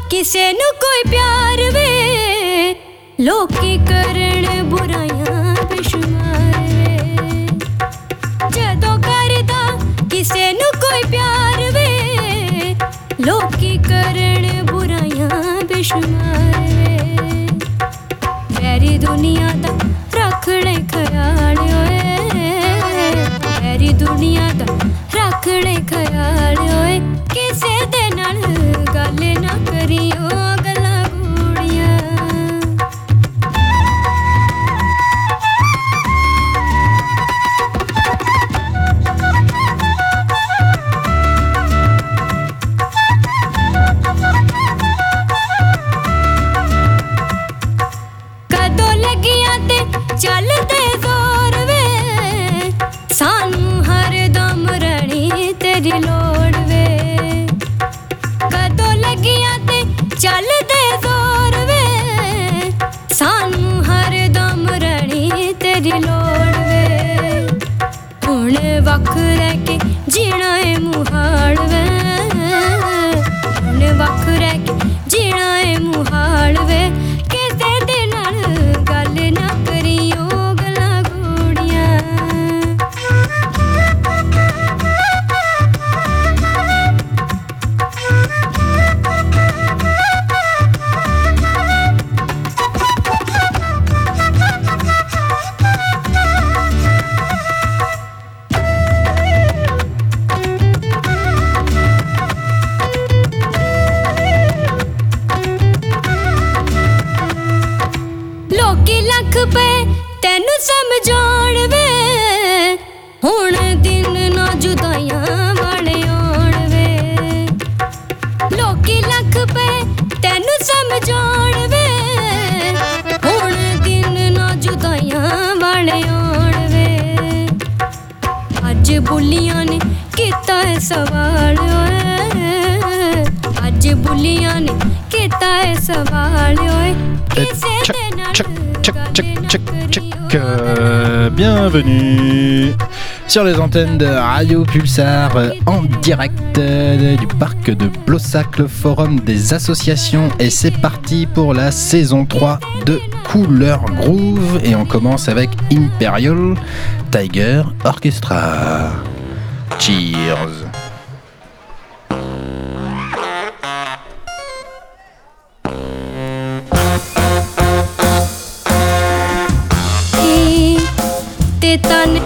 किसे नु कोई प्यार वे लोकी करण बुराइयां बेशुमार वे जदों करदा किसे नु कोई प्यार वे लोकी करण बुराइयां बेशुमार वे मेरी दुनिया दा रखणे ख्याल ओए मेरी दुनिया दा रखणे ख्याल ओए किसे दे नाल गल ना करियो गल्लां गूड़ियां कदों लगियां ते चलदे जोर वे सानू हर दम रणी तेरी लोड़ वे कदों लगियां ते चलदे जोर वे सानू हर दम रणी तेरी लोड़ वे हुण वख रह के जीना है मुहाल वे हुण वख रह के जीना है मुहाल वे किसे दे नाल गल ना करियो गल्लां गूड़ियां लोकी लख पे तैनू समझाउण वे हुण दिन ना जुदाइयां वाले आउण वे लोकी लख पे तैनू समझाउण वे हुण दिन ना जुदाइयां वाले आउण वे अज बुलियां ने कीता है सवाल ओए अज बुलियां ने कीता है सवाल ओए किसे दे Bienvenue sur les antennes de Radio Pulsar en direct du parc de Blossac, le forum des associations, et c'est parti pour la saison 3 de Couleur Groove et on commence avec Imperial Tiger Orchestra. Cheers. Tane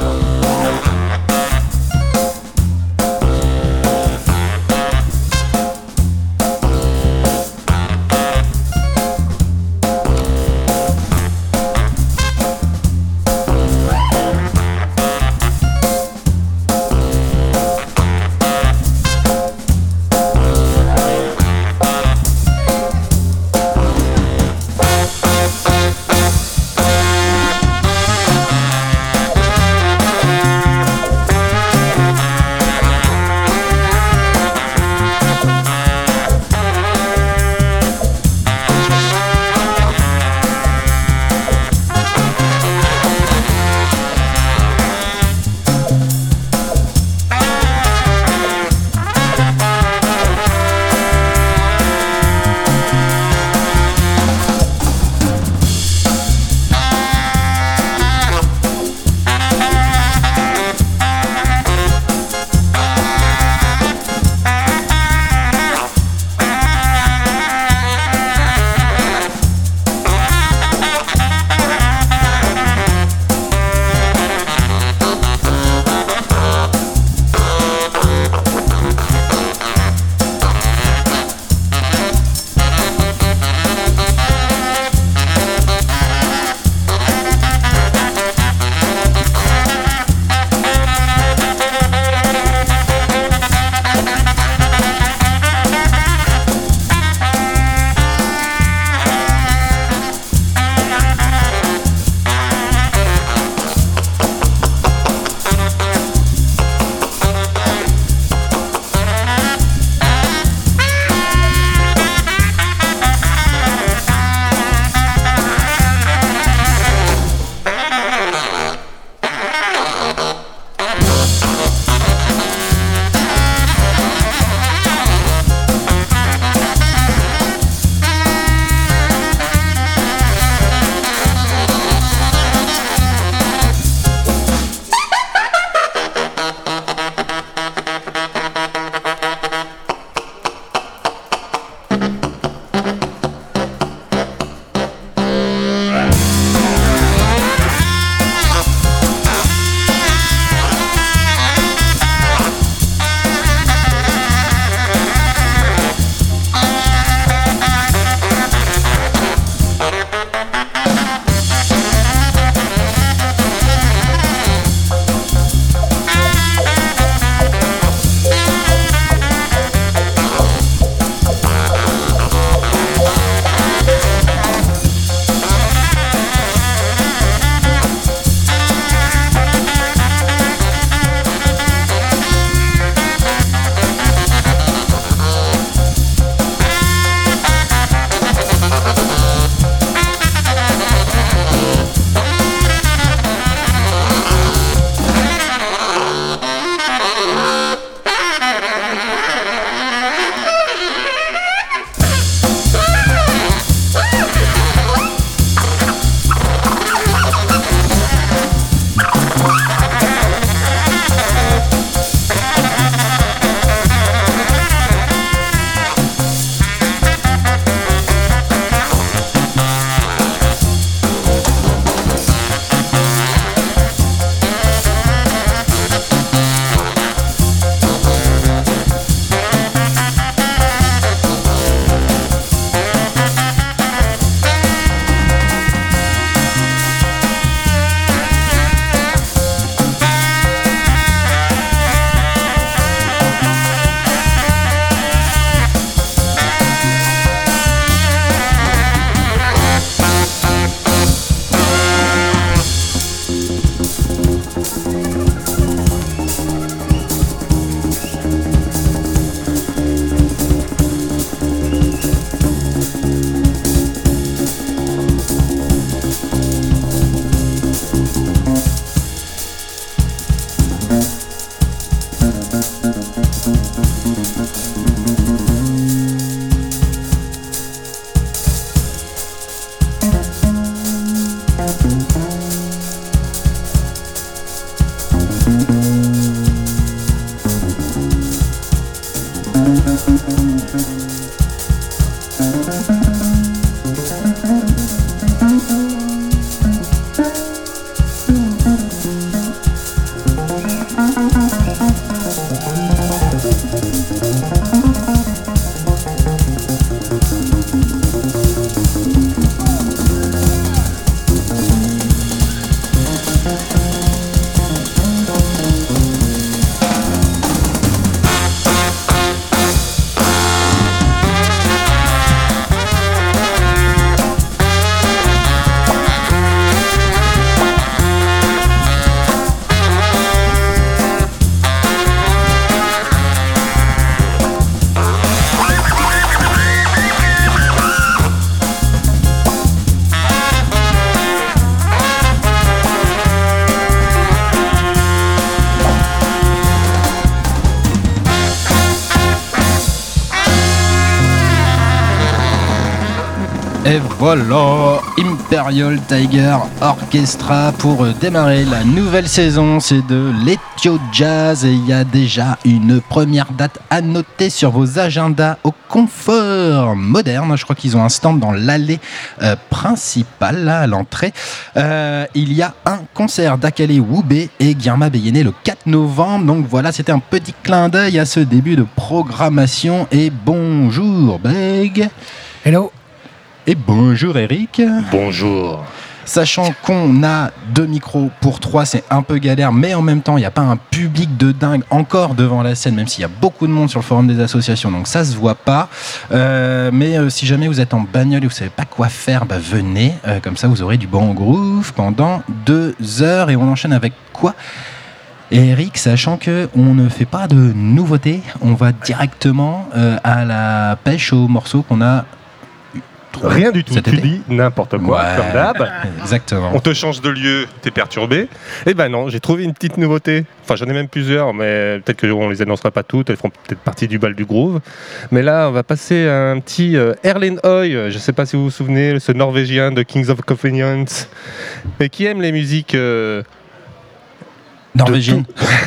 Et voilà, Imperial Tiger Orchestra pour démarrer la nouvelle saison. C'est de l'Ethio Jazz et il y a déjà une première date à noter sur vos agendas au Confort Moderne. Je crois qu'ils ont un stand dans l'allée principale, là, à l'entrée. Il y a un concert d'Akale Woubé et Guillerma Béyéné le 4 novembre. Donc voilà, c'était un petit clin d'œil à ce début de programmation. Et bonjour Beg. Hello. Et bonjour Eric. Bonjour. Sachant qu'on a 2 micros pour 3, c'est un peu galère, mais en même temps, il n'y a pas un public de dingue encore devant la scène, même s'il y a beaucoup de monde sur le forum des associations, donc ça se voit pas. Mais si jamais vous êtes en bagnole et vous savez pas quoi faire, bah venez, comme ça vous aurez du bon groove pendant 2 heures. Et on enchaîne avec quoi ? Et Eric, sachant qu'on ne fait pas de nouveautés, on va directement à la pêche aux morceaux qu'on a... Rien du tout, tu dis n'importe quoi, ouais, comme d'hab. Exactement. On te change de lieu, t'es perturbé. Eh ben non, j'ai trouvé une petite nouveauté. Enfin, j'en ai même plusieurs, mais peut-être qu'on les annoncera pas toutes. Elles feront peut-être partie du bal du groove. Mais là, on va passer à un petit Erlend Høy. Je sais pas si vous vous souvenez, ce Norvégien de Kings of Convenience, mais qui aime les musiques norvégiennes.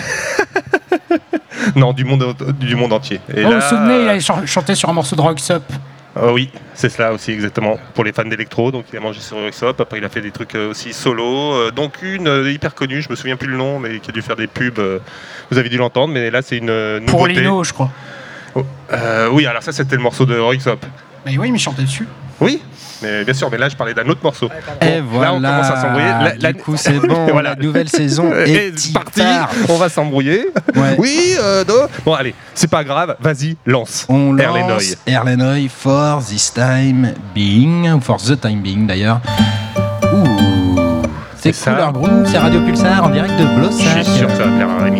Non, du monde entier. Et Vous là, vous souvenez, il a chanté sur un morceau de Rock Up. Oui, c'est cela aussi exactement, pour les fans d'électro. Donc il a mangé sur Roxop, après il a fait des trucs aussi solo, donc une hyper connue, je me souviens plus le nom, mais qui a dû faire des pubs, vous avez dû l'entendre, mais là c'est une nouveauté. Pour Lino, je crois. Oui, alors ça c'était le morceau de Roxop. Mais oui, mais il chantait dessus. Oui, mais bien sûr, mais là je parlais d'un autre morceau. Et voilà, là on commence à s'embrouiller. Du coup c'est bon, voilà. La nouvelle saison est partie, on va s'embrouiller. Ouais. Oui, bon allez, c'est pas grave, vas-y, lance. On Erlend lance Høy. Erlend Høy for this time being, ou for the time being d'ailleurs. Ouh, c'est ça. Couleur Groove, c'est Radio Pulsar en direct de Blossac. Je suis sûr que ça va plaire à Rémi.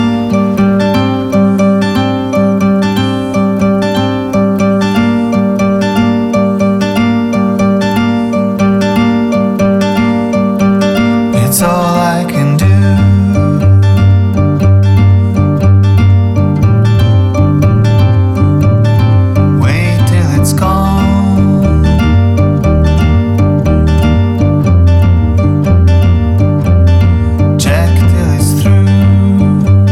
It's all I can do. Wait till it's gone. Check till it's through.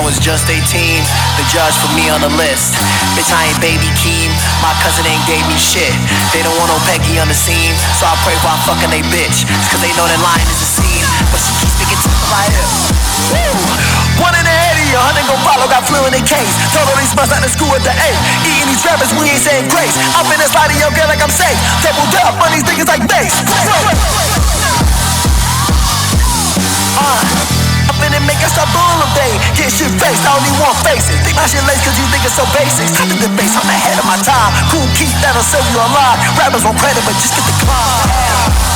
was just 18. The judge put me on the list. Bitch, I ain't baby Keem. My cousin ain't gave me shit. They don't want no Peggy on the scene, so I pray while fucking they bitch. It's cause they know that lying is a scene, but she keeps sticking to my hip. Woo! One in the head of you, 100 gon' follow, got flu in the case. Told all these bust out of school at the 8. Eating these rappers, we ain't saying grace. I'm finna slide in your girl like I'm safe. Doubled up on these niggas like bass. I'm finna make us stop bull day. Get shit faced, I only want faces. Think my shit lace cause you think it's so basic. Cut the base, I'm ahead of my time. Cool Keith, that'll sell you a lot. Rappers won't credit, but just get the climb.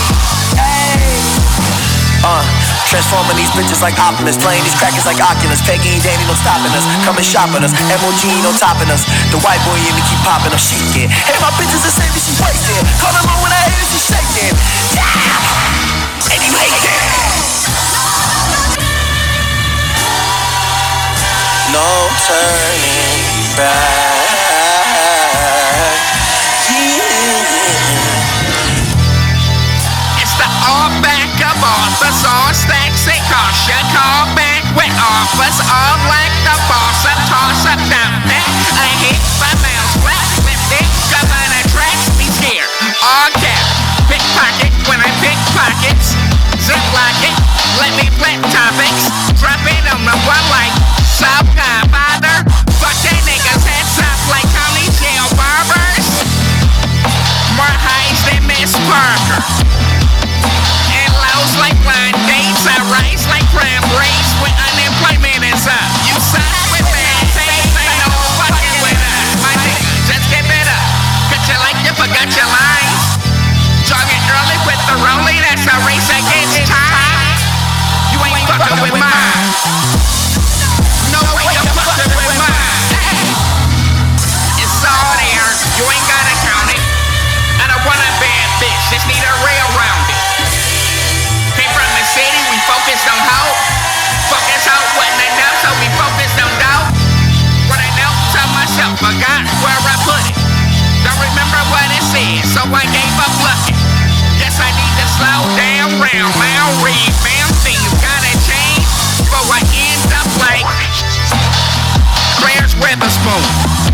Transforming these bitches like Optimus, playing these crackers like Oculus. Peggy and Danny no stopping us, coming shopping us. MOG no topping us. The white boy in me keep popping up, shaking. Hey, my bitches the same, she wasted. Call them on when I hit it, she shaking. Yeah, and you hate it. No turning back. It's the all back of offers, all stacks and caution. Call back with offers, all like the boss. I toss up down there. I hit my mouse flat, lift it, cover the tracks, be scared. All cap, pickpocket when I pick pockets. Zip lock it, let me flip topics. Drop it on the one like South Godfather. Fuck that niggas heads up like county jail barbers. More highs than Miss Parker. And lows like blind dates. I rise like crime rates when unemployment is up. You side with bad taste, ain't no fucking with us. My nigga, just give it up. Cut you like you forgot your lines. Jogging early with the rolling, that's a race against time. You ain't fucking with mine. No way you fucking with mine. It's all there, you ain't gotta count it. I don't want a bad bitch, just need a rail round it. Came from the city, we focused on hope. Focus out wasn't enough, so we focused on doubt. What I know, tell myself, forgot where I put it. Don't remember what it said, so I gave up looking. Guess I need to slow down, round, round, rebound. Things gotta change, before I end up like Claire's Witherspoon.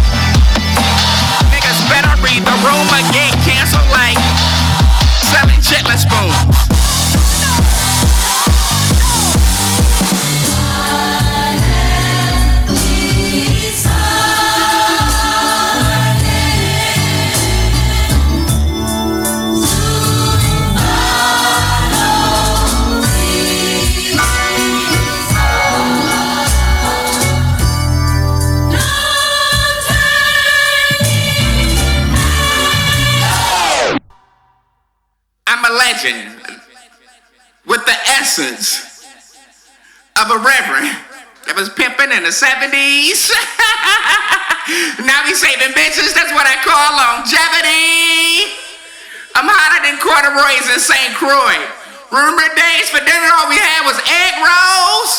Niggas better read the room or get canceled like selling chitlin spoons. Legend with the essence of a reverend that was pimping in the 70s. Now he's saving bitches, that's what I call longevity. I'm hotter than corduroys in St. Croix. Remember days for dinner all we had was egg rolls?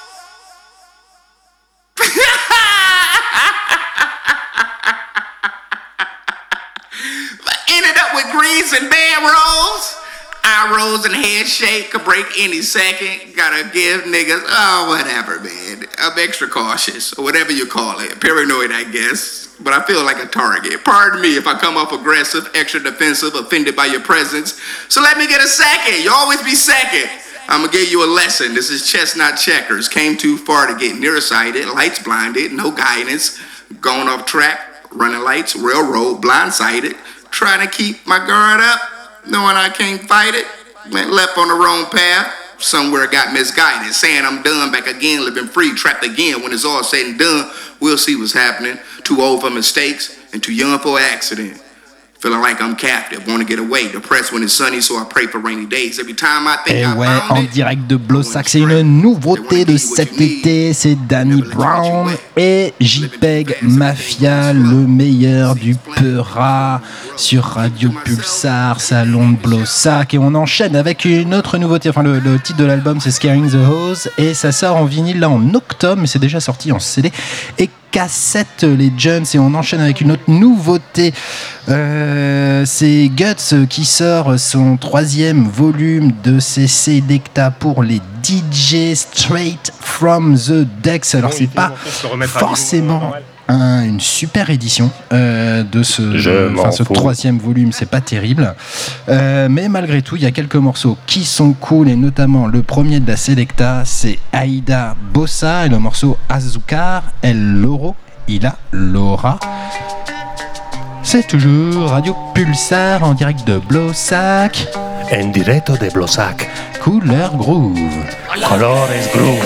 Ended up with greens and bed rolls. Eye rolls and head shake could break any second. Gotta give niggas, whatever, man. I'm extra cautious, or whatever you call it. Paranoid, I guess. But I feel like a target. Pardon me if I come off aggressive, extra defensive, offended by your presence. So let me get a second. You always be second. I'm gonna give you a lesson. This is chess, not checkers. Came too far to get nearsighted. Lights blinded, no guidance. Going off track, running lights, railroad, blindsided. Trying to keep my guard up, knowing I can't fight it. Went left on the wrong path, somewhere got misguided. Saying I'm done, back again, living free, trapped again. When it's all said and done, we'll see what's happening. Too old for mistakes and too young for accident. Feeling like I'm captive, want to get away. Depressed when it's sunny, so I pray for rainy days. Every time I think Et I ouais, found en it, direct de Blossac, c'est une nouveauté de cet été, c'est Danny Brown et JPEG Mafia, le meilleur du Peura sur Radio Pulsar, Salon de Blossac. Et on enchaîne avec une autre nouveauté, enfin le titre de l'album c'est Scaring the Hose et ça sort en vinyle là en octobre, mais c'est déjà sorti en CD. Et cassette, les Jones, et on enchaîne avec une autre nouveauté. C'est Guts qui sort son 3e volume de ses Selecta pour les DJ Straight from the Decks. Alors c'est pas forcément une super édition de ce 3e volume, c'est pas terrible, mais malgré tout il y a quelques morceaux qui sont cool, et notamment le premier de la Selecta, c'est Aïda Bossa et le morceau Azúcar El Loro y la Lora. C'est toujours Radio Pulsar en direct de Blossac. En directo de Blossac. Couleur Groove. Colores Groove.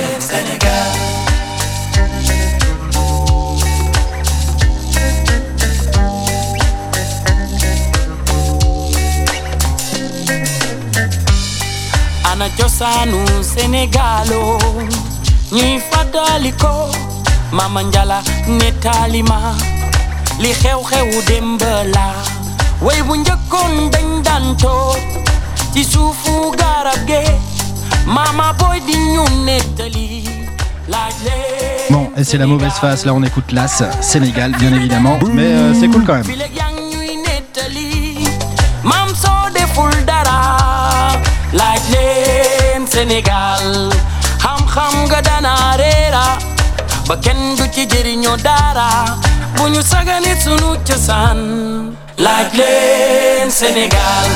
Ana cosaanu Sénégalo ñuy fàttali ko Mama Njala nettali ma li xew-xewu démb la way bu njëkkoon dañ daan toog ci suufu garab ge Mama Boy di ñu nettali laaj leen. Bon, et c'est la mauvaise face, là on écoute l'As, Sénégal bien évidemment, mais c'est cool quand même. Mam soo deful dara laaj leen Sénégal xam-xam nga dana reera ba kenn du ci jëriñoo dara bu ñu sagane sunu cosaan laaj leen Sénégal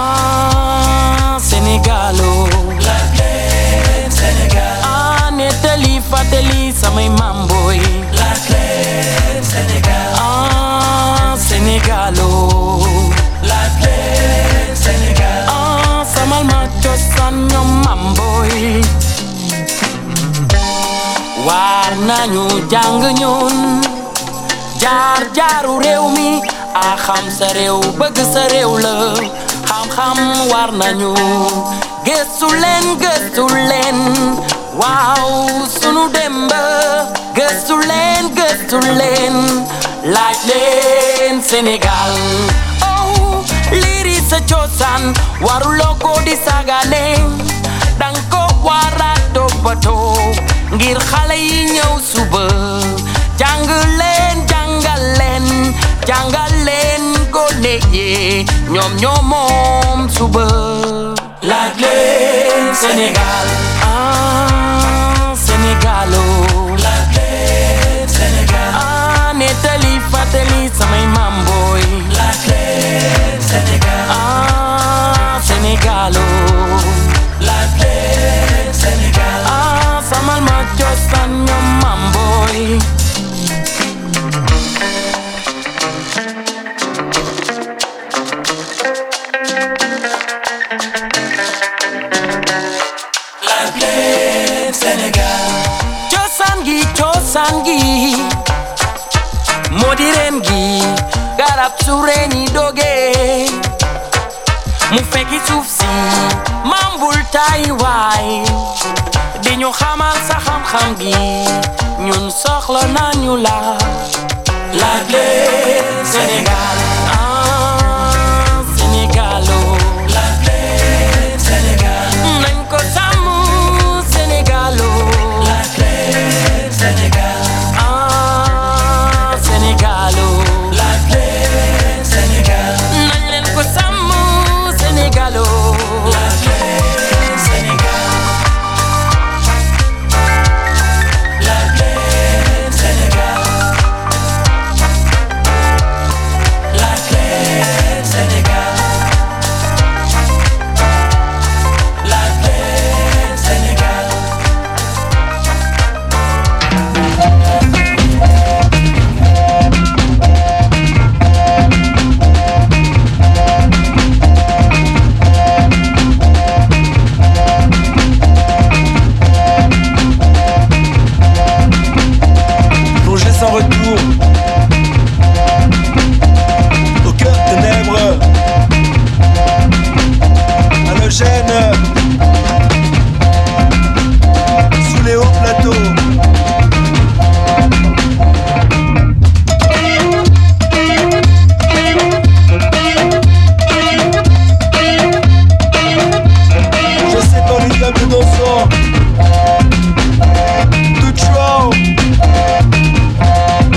Sénégalo laaj leen Sénégal nettali fàttali samay maam booy laaj leen Sénégal Sénégalo laaj leen Sénégal samal ma cosaan ñoom maam booy war nañu jàng ñun jaar jaaru réew mi a xam sa réew bëgg sa réew la xam-xam war nañu gëstu leen waaw sunu demb gëstu leen laaj leen Sénégal oh liri sa cosaan waruloo ko di sagane dang ko wara toppatoo ngir xale yi ñëw suba jàngal leen gone yi ñoom moom suba laaj leen Sénégal Sénégalo laaj leen Sénégal nettali fàttali samay maam booy laaj leen Sénégal Sénégalo laaj leen Sénégal samal ma cosaan ñoom maam booy laaj leen Sénégal cosaan gi moo di reen gi garab su reeni doge mu fekki suuf si mambul tay waay di ñu xamal sa xam-xam gi ñun soxla nañu la laaj leen Sénégal Sénégalo laaj leen Sénégal nañ ko sàmm Sénégalo laaj leen Sénégal Sénégalo laaj leen Sénégal nañ leen ko sàmm Sénégalo laaj leen Sénégal laaj leen Sénégal laaj leen Sénégal laaj leen Sénégal Plongé sans retour au cœur des ténèbres, halogène sous les hauts plateaux. Je sais pas les tables dansant, tout chaud.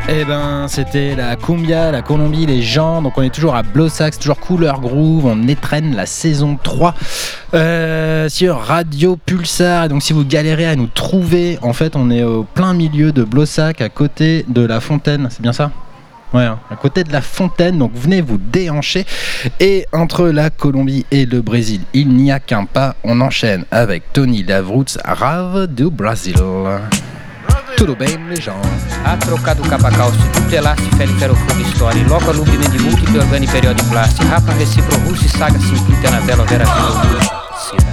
Eh ben, c'était la cumbia, la Colombie, les gens. Donc on est toujours à Blossac, toujours Couleur Groove. On étrenne la saison 3 sur Radio Pulsar. Et donc si vous galérez à nous trouver, en fait on est au plein milieu de Blossac, à côté de la fontaine. C'est bien ça ? Ouais, à côté de la fontaine, donc venez vous déhancher. Et entre la Colombie et le Brésil, il n'y a qu'un pas. On enchaîne avec Tony Lavroots, Rave do Brasil. Tudo bem, les gens? A trocado capacal, se tudo elaste, fere ferrofogo história, loco alumine de múltiplo organi periodi plasti, rapa recipro russi saga simplita na vela vera cidade.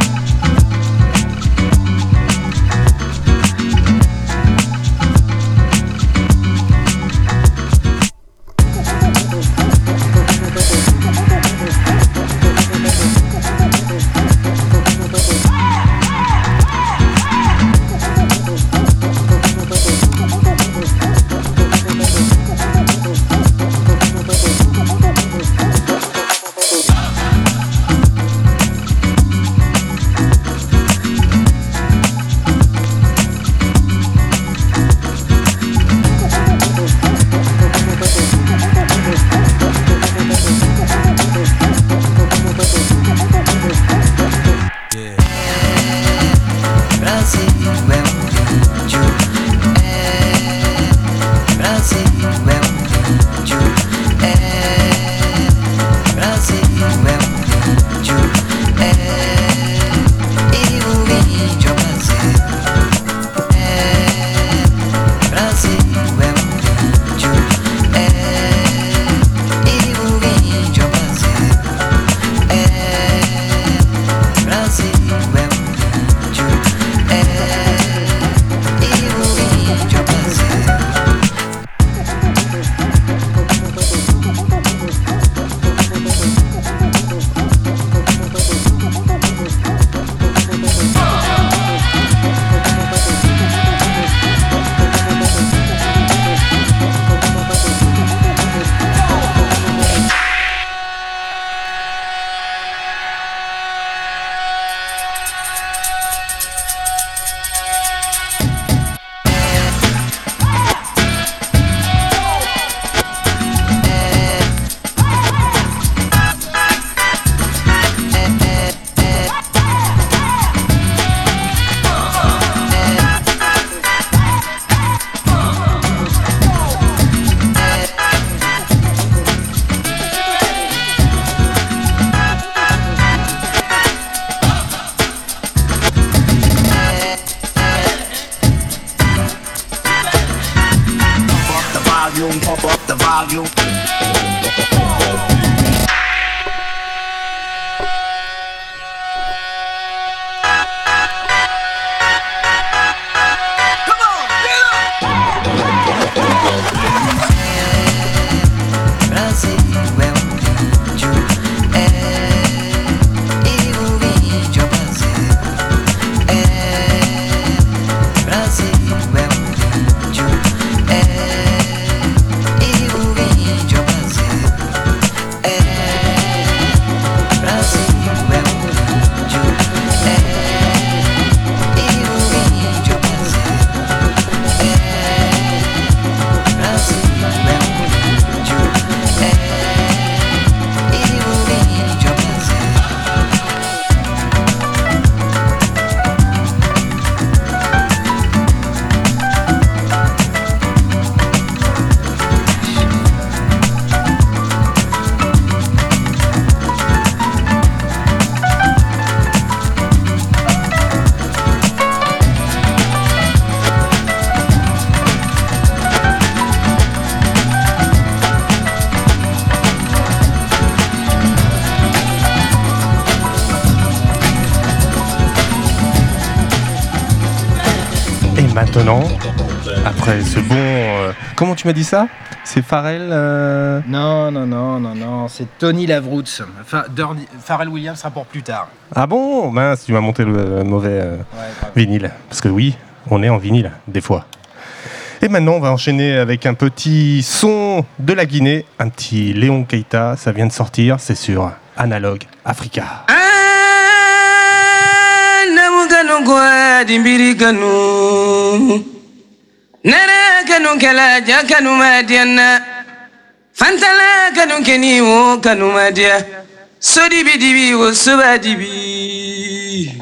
Maintenant, après ce bon... comment tu m'as dit ça ? C'est Pharrell Non, c'est Tony Lavroots. Pharrell Williams sera pour plus tard. Ah bon ? Mince, tu m'as monté le mauvais vinyle. Parce que oui, on est en vinyle, des fois. Et maintenant, on va enchaîner avec un petit son de la Guinée, un petit Léon Keita, ça vient de sortir, c'est sur Analog Africa. nara kanu kala ja kanu madiana fantala kanu keni wo kanu madia sodi bidibi wo subadibi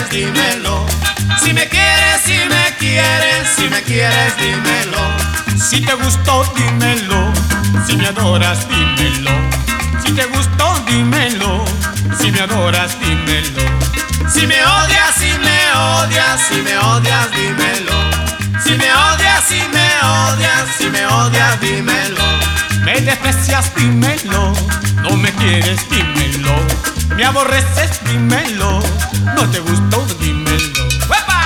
dímelo. Si me quieres, si me quieres, si me quieres, dímelo. Si te gustó, dímelo. Si me adoras, dímelo. Si te gustó, dímelo. Si me adoras, dímelo. Si me odias, si me odias, si me odias, dímelo. Si me odias, si me odias, si me odias, dímelo. Me desprecias, dímelo. No me quieres, dímelo. Me aborreces, dímelo. No te gustó, dímelo. ¡Uepa!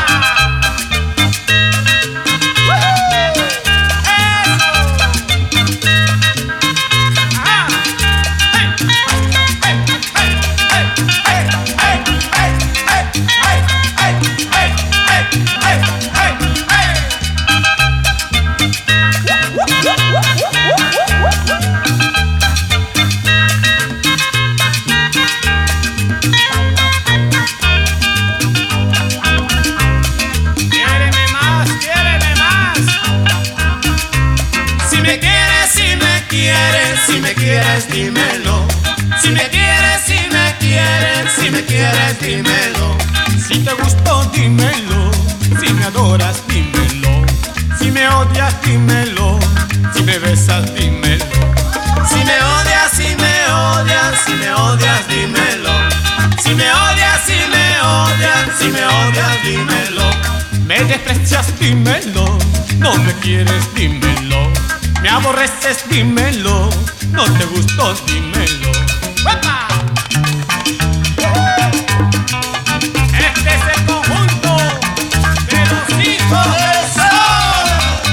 Si me quieres, dímelo. Si me quieres, si me quieres, si me quieres, dímelo. Si te gustó, dímelo. Si me adoras, dímelo. Si me odias, dímelo. Si me besas, dímelo. Si me odias, si me odias, si me odias, dímelo. Si me odias, si me odias, si me odias, dímelo. Me desprecias, dímelo. No me quieres, dímelo. Me aborreces, dímelo. No te gustó, dímelo. ¡Uepa! Este es el conjunto de los hijos del sol.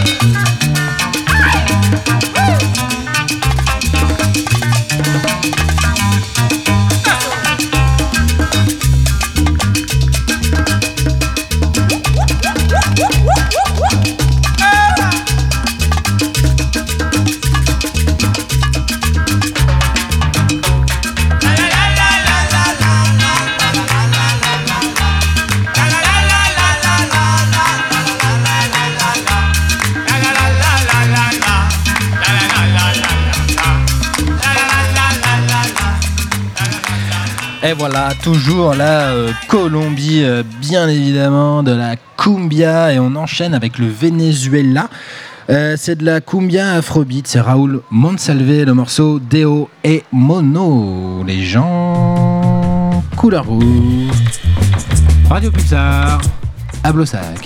Et voilà, toujours la Colombie, bien évidemment, de la cumbia. Et on enchaîne avec le Venezuela. C'est de la cumbia afrobeat. C'est Raúl Monsalve, le morceau Deo et Mono. Les gens couleur rouge. Radio Pulsar à Blossac.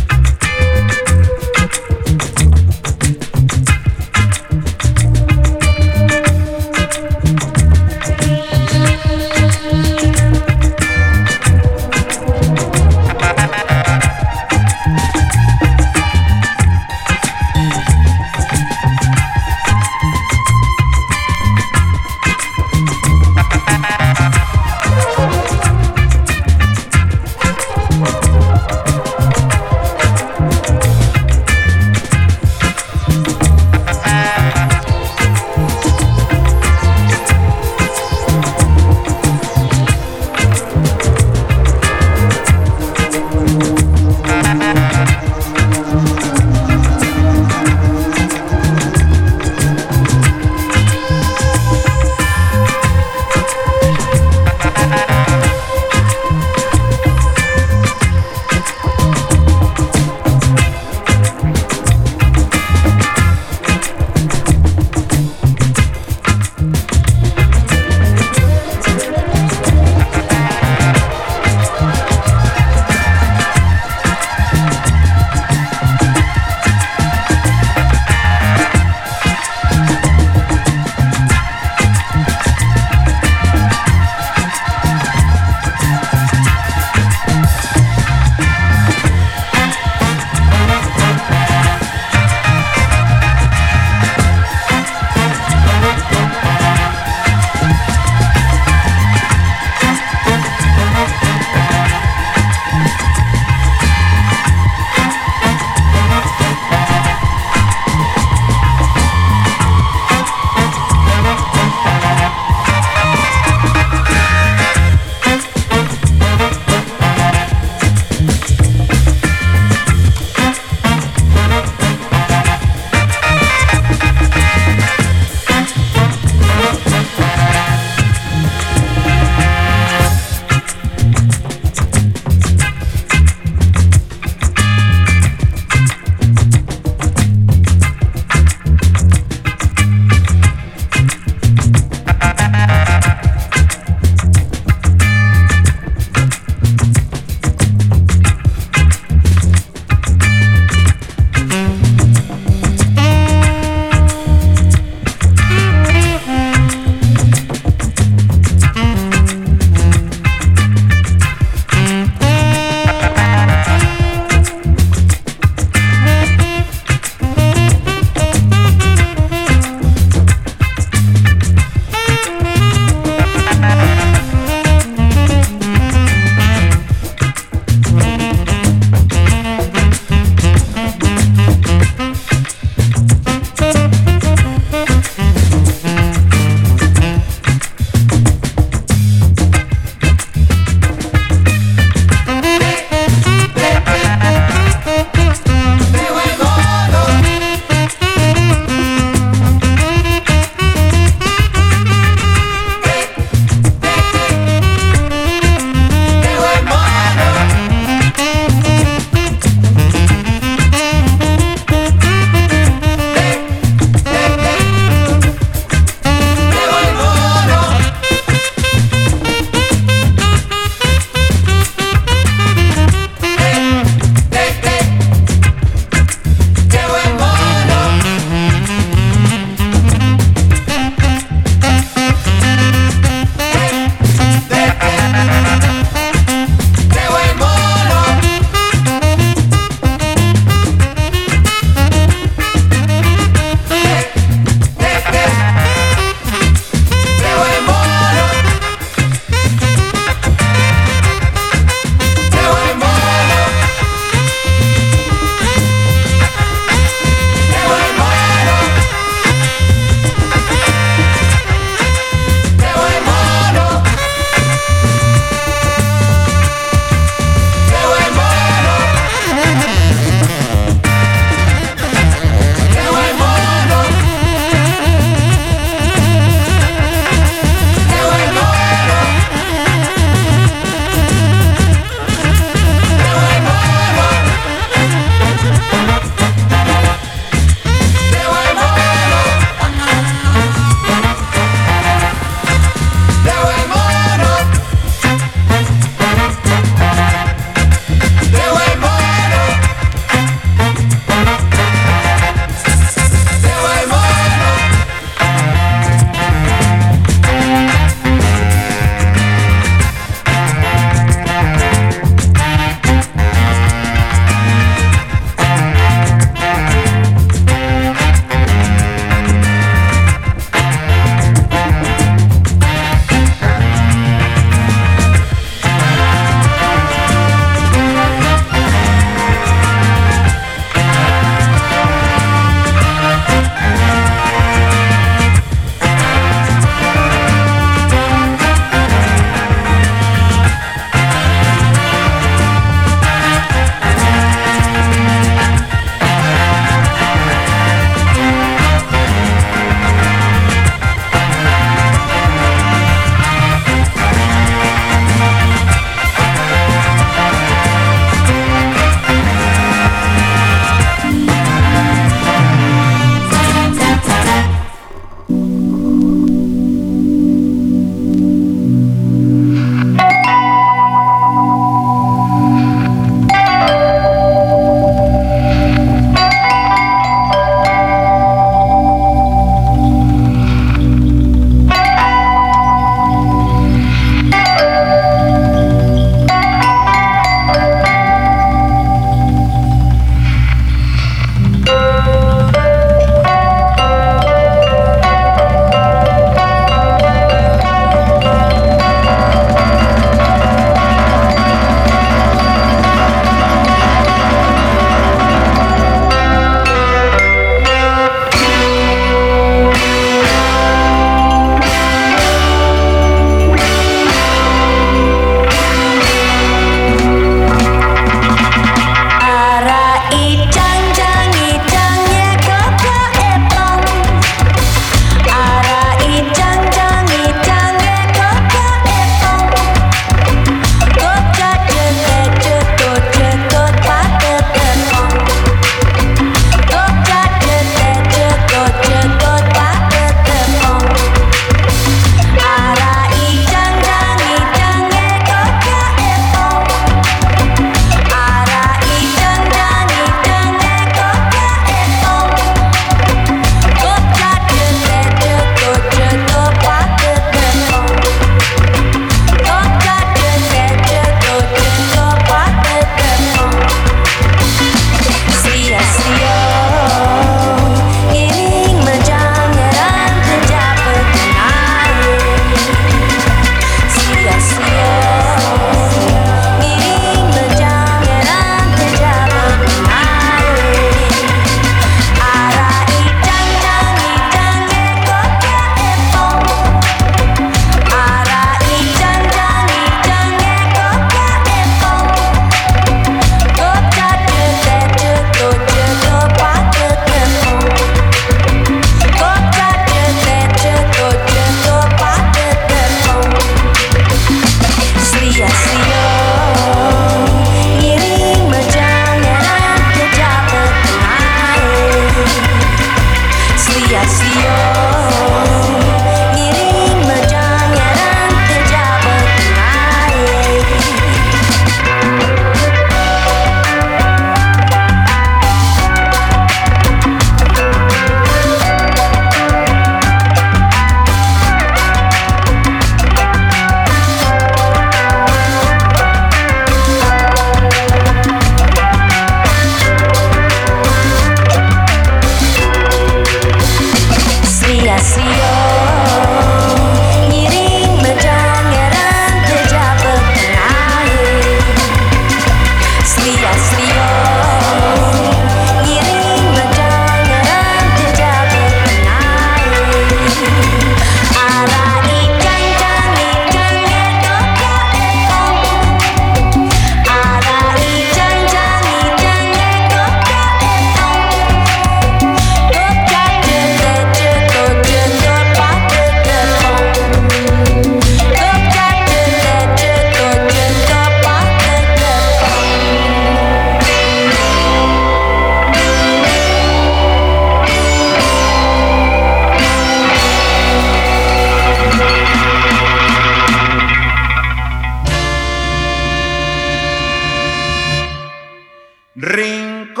Rincón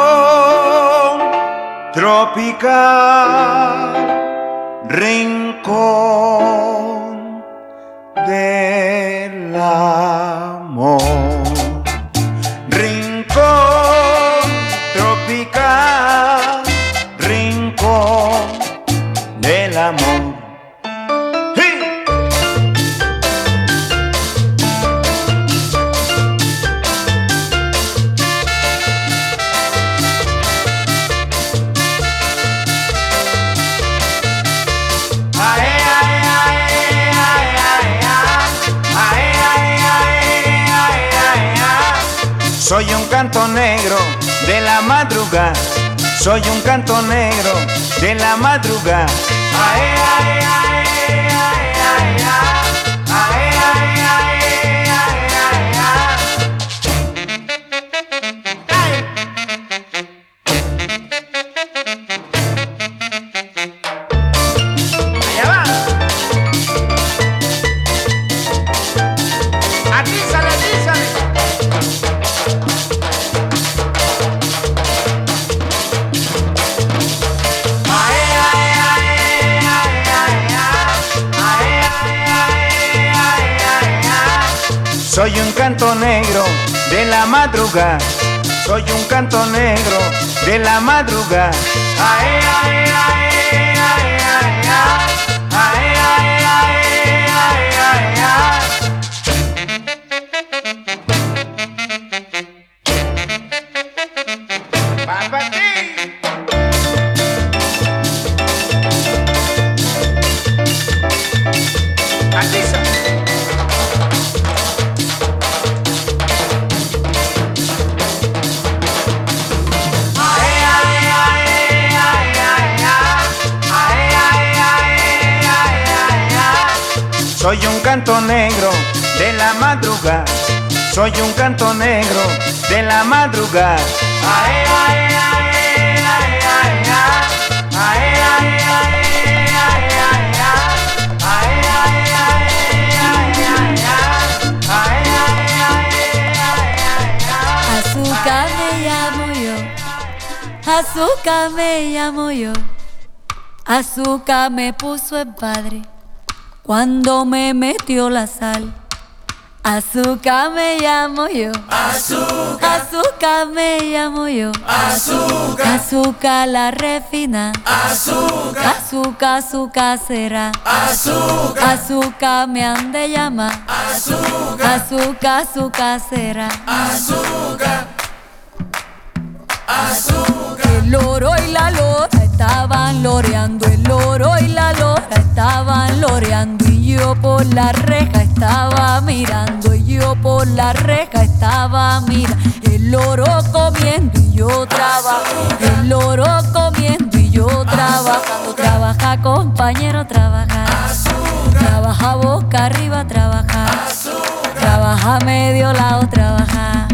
tropical, rincón del amor. Rincón tropical, rincón del amor. Soy un canto negro de la madrugada, soy un canto negro de la madrugada. Ae, ae, ae, ae, ae, ae, ae, allá va. Atízale, atízale. Soy un canto negro de la madrugada, soy un canto negro de la madrugada. Ae, ae, ae, ae, ae, ae, ae, ae, ae, ae. Va pa' ti. Atiza. Soy un canto negro de la madrugada, soy un canto negro de la madrugada. Ae, ae, ae, ae, ae, ae, ae, Azúcar me llamo yo, azúcar me llamo yo, azúcar me puso el padre cuando me metió la sal. Azúcar me llamo yo, azúcar, azúcar me llamo yo, azúcar, azúcar la refina, azúcar, azúcar, azúcar será, azúcar, azúcar me han de llamar, azúcar, azúcar, azúcar será, azúcar, azúcar. El loro y la lora estaban loreando, el loro y la lora estaban loreando, y yo por la reja estaba mirando, y yo por la reja estaba mirando. El loro comiendo y yo trabajando, el loro comiendo y yo trabajando. Trabaja compañero, trabaja, trabaja boca arriba, trabaja, trabaja medio lado, trabaja.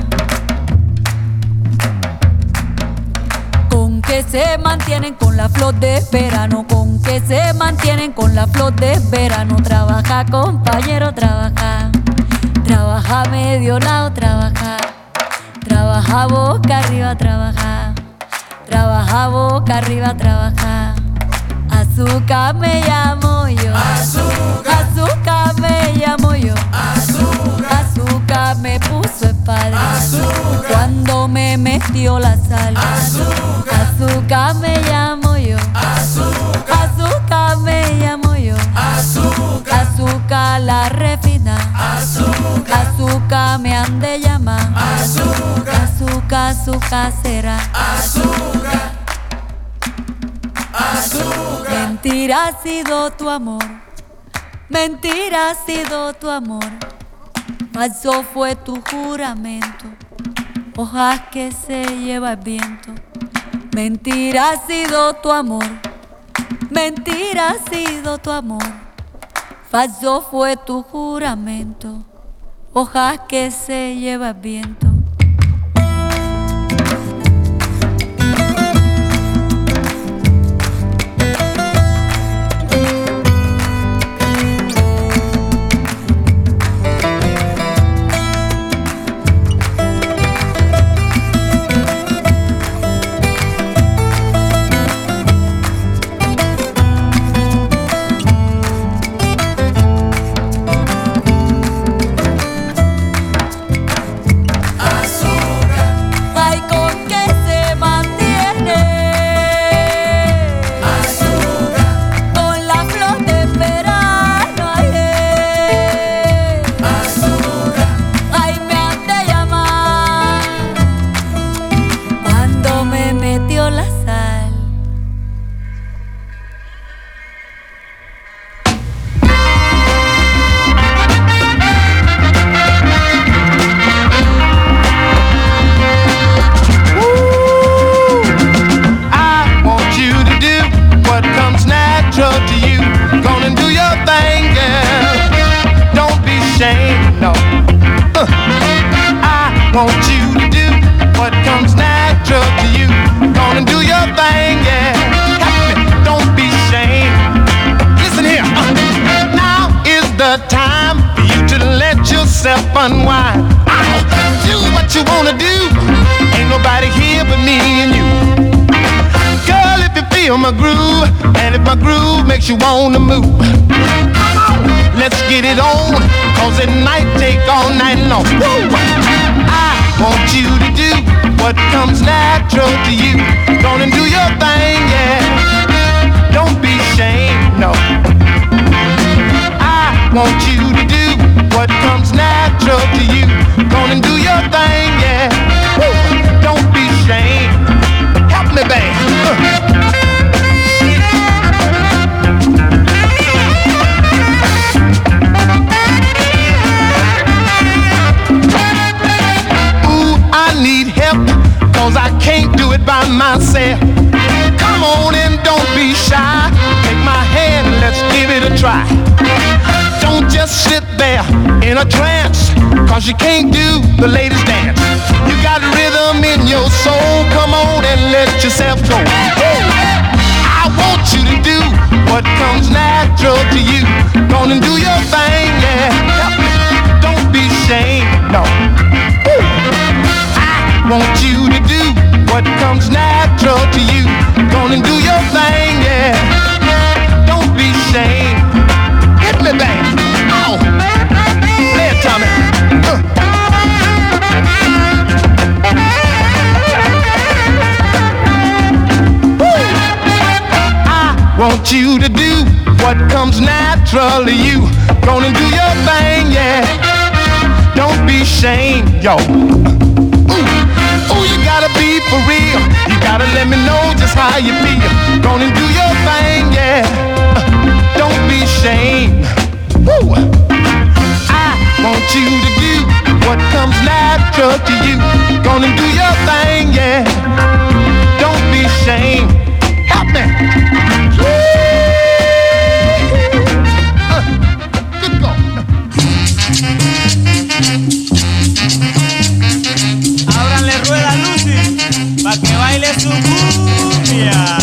Con que se mantienen con la flor de verano, con que se mantienen con la flor de verano. Trabaja compañero, trabaja, trabaja medio lado, trabaja, trabaja boca arriba, trabaja, trabaja boca arriba, trabaja. Azúcar me llamo yo, azúcar, azúcar me llamo yo, azúcar, azúcar me puso el padre, azúcar, cuando me metió la sal. Azúcar, azúcar me llamo yo, azúcar, azúcar me llamo yo, azúcar, azúcar la refina, azúcar, azúcar me han de llamar, azúcar, azúcar, azúcar será, azúcar, azúcar. Mentira ha sido tu amor, mentira ha sido tu amor, falso fue tu juramento, hojas que se lleva el viento. Mentira ha sido tu amor, mentira ha sido tu amor, falso fue tu juramento, hojas que se lleva el viento. what comes natural to you. Gonna do your thing, yeah. Help me, don't be ashamed. Listen here. Now is the time for you to let yourself unwind. Do what you wanna do. Ain't nobody here but me and you. Girl, if you feel my groove, and if my groove makes you wanna move, let's get it on, cause it might take all night long. Woo! I want you to do what comes natural to you. Gonna do your thing, yeah. Don't be ashamed, no. I want you to do what comes natural to you. Gonna do your thing, yeah. Woo! Don't be ashamed. Help me, babe. Cause I can't do it by myself. Come on and don't be shy. Take my hand and let's give it a try. Don't just sit there in a trance, cause you can't do the latest dance. You got rhythm in your soul. Come on and let yourself go. I want you to do what comes natural to you. Gonna do your thing, yeah. Don't be ashamed, no. Want you to do what comes natural to you. Gonna do your thing, yeah. Don't be ashamed. Hit me back. Oh, play it, Tommy. I want you to do what comes natural to you. Gonna do your thing, yeah. Don't be ashamed, yo. Ooh, you gotta be for real. You gotta let me know just how you feel. Gonna do your thing, yeah. Don't be ashamed. Woo. I want you to do what comes natural to you. Gonna do your thing, yeah. Don't be ashamed. Help me. Good go. Ábranle rueda a Lucy, pa' que baile su cumbia.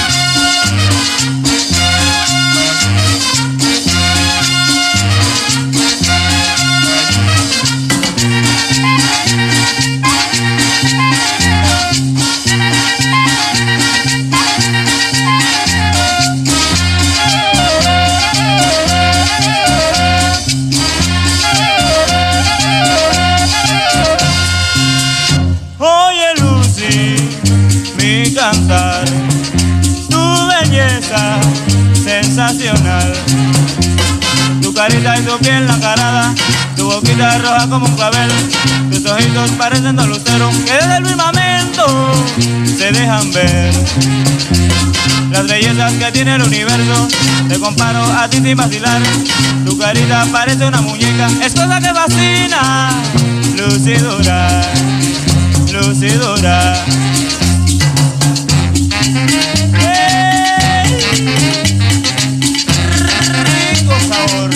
Cantar tu belleza sensacional, tu carita y tu piel nacarada, tu boquita roja como un clavel, tus ojitos parecen dos luceros que desde el firmamento se dejan ver. Las bellezas que tiene el universo, te comparo a ti sin vacilar. Tu carita parece una muñeca, es cosa que fascina. Lucidura, lucidura. Rico sabor.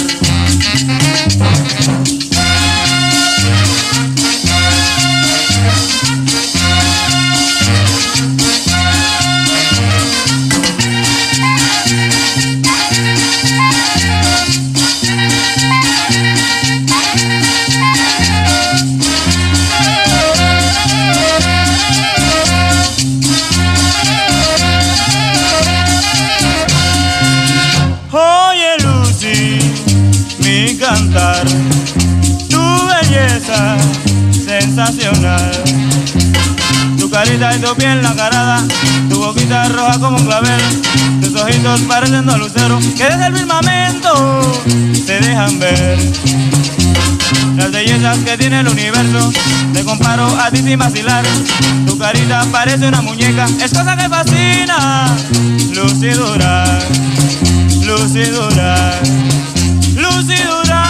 Cantar tu belleza sensacional, tu carita y tu piel nacarada, tu boquita roja como un clavel, tus ojitos parecen dos luceros que desde el firmamento se dejan ver. Las bellezas que tiene el universo, te comparo a ti sin vacilar. Tu carita parece una muñeca, es cosa que fascina. Lucidura, lucidura, lucidura.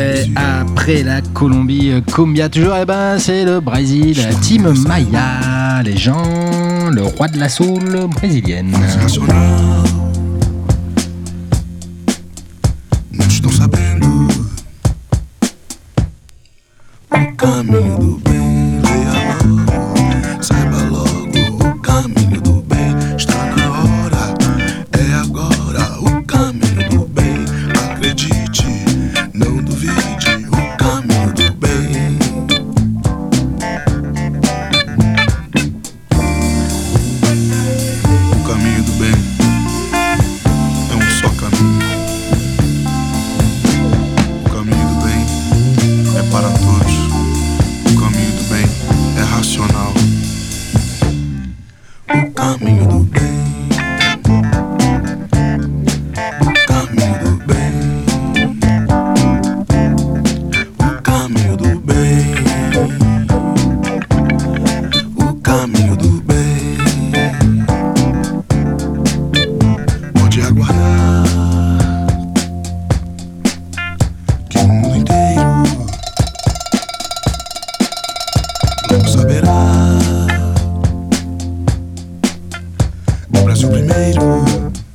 Après la Colombie, Cumbia toujours, et ben c'est le Brésil, Team Maya, les gens, le roi de la soul brésilienne. Não estão sabendo o caminho do bem, leia logo, saiba logo o caminho do bem, está na hora, é agora o caminho do bem, acredite, não duvide, o caminho do bem. O caminho do bem é um só caminho. O caminho do bem é para todos. O caminho do bem é racional. O caminho do bem. O caminho do bem. O caminho do bem. O caminho do bem. Pode aguardar que o mundo inteiro logo saberá. O Brasil primeiro.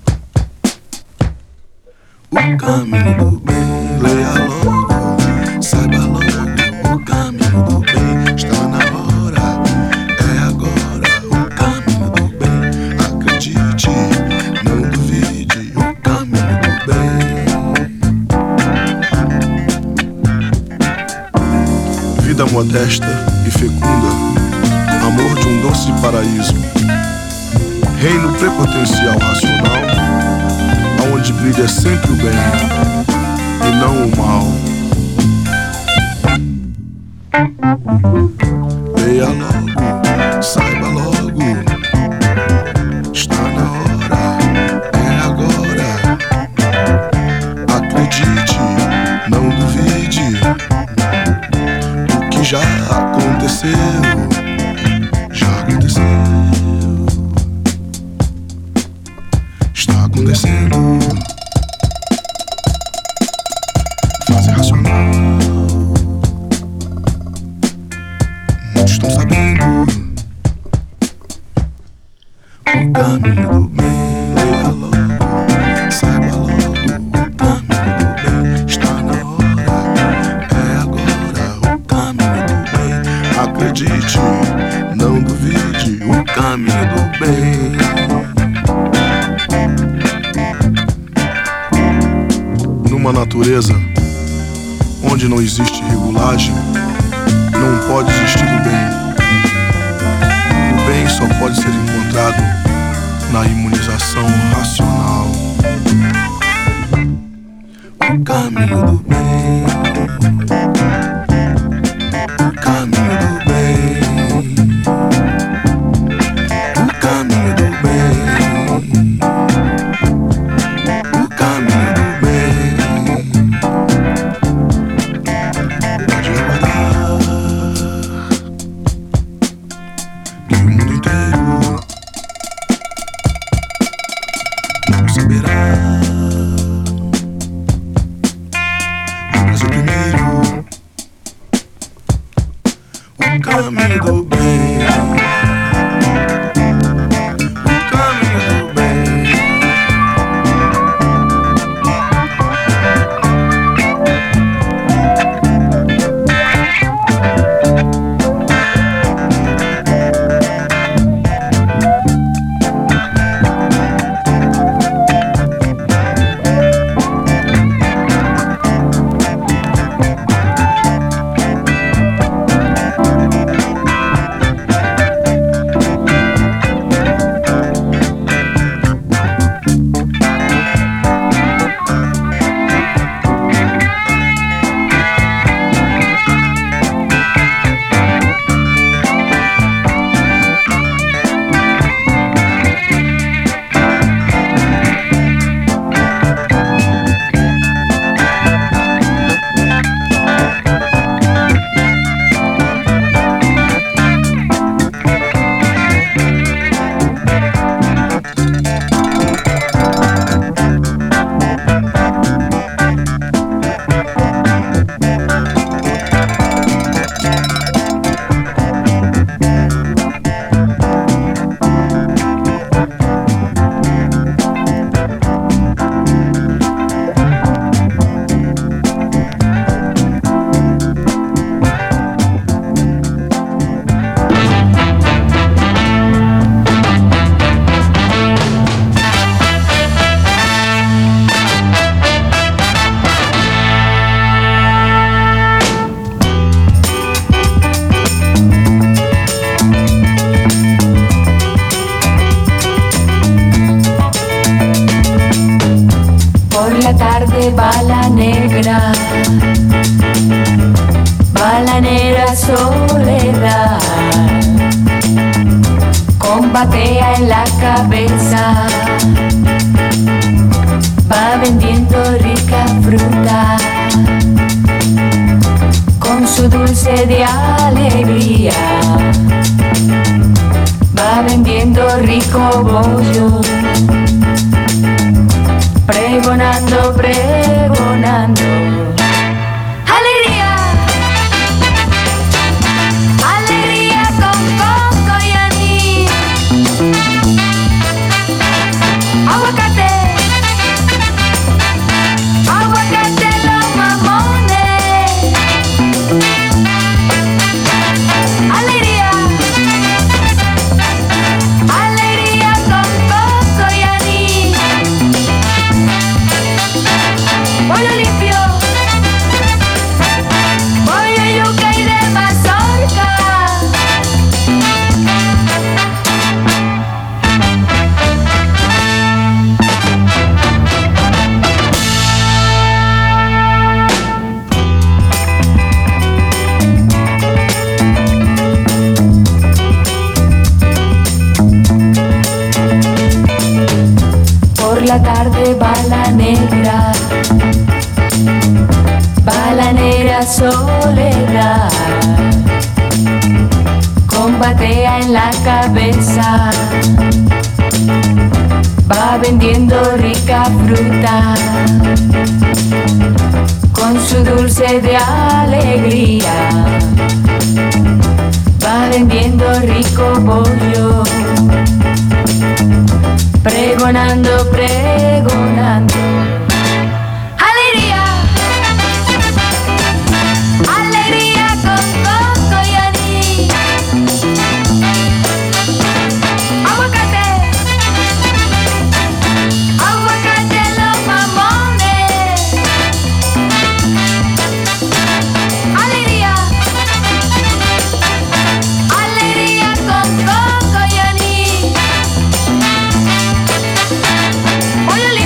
O caminho do bem, leia logo, saiba logo. O caminho do bem está na hora, é agora. O caminho do bem, acredite, não duvide. O caminho do bem. Vida modesta e fecunda, amor de um doce paraíso, reino prepotencial racional, aonde brilha sempre o bem e não o mal. Leia logo, saiba logo, está na hora, é agora. Acredite, não duvide, o que já aconteceu, já aconteceu, está acontecendo. Fase racional, muitos estão sabendo. O caminho do bem, leia logo, saiba logo. O caminho do bem está na hora, é agora. O caminho do bem, acredite, não duvide. O caminho do bem. Numa natureza onde não existe regulagem, não pode existir o bem. O bem só pode ser encontrado na imunização racional. O caminho do bem. O caminho do bem. O caminho do bem. O caminho do bem. Pode aguardar que o mundo inteiro não saberá. O Brasil primeiro. O caminho do bem. O caminho do bem. la soledad, con batea en la cabeza, va vendiendo rica fruta, con su dulce de alegría, va vendiendo rico bollo, pregonando, pregonando. ¡Alegría! ¡Alegría con coco y anís! ¡Aguacate! ¡Aguacate los mamones! ¡Alegría! ¡Alegría con coco y anís! ¡Pollo limpio! ¡Pollo yuca y de mazorca! Por la tarde va la negra soledad, con batea en la cabeza, va vendiendo rica fruta, con su dulce de alegría, va vendiendo rico bollo, pregonando, pregonando. ¡Alegría! ¡Alegría con coco y anís! ¡Aguacate! ¡Aguacate los mamones! ¡Alegría! ¡Alegría con coco y anís! ¡Pollo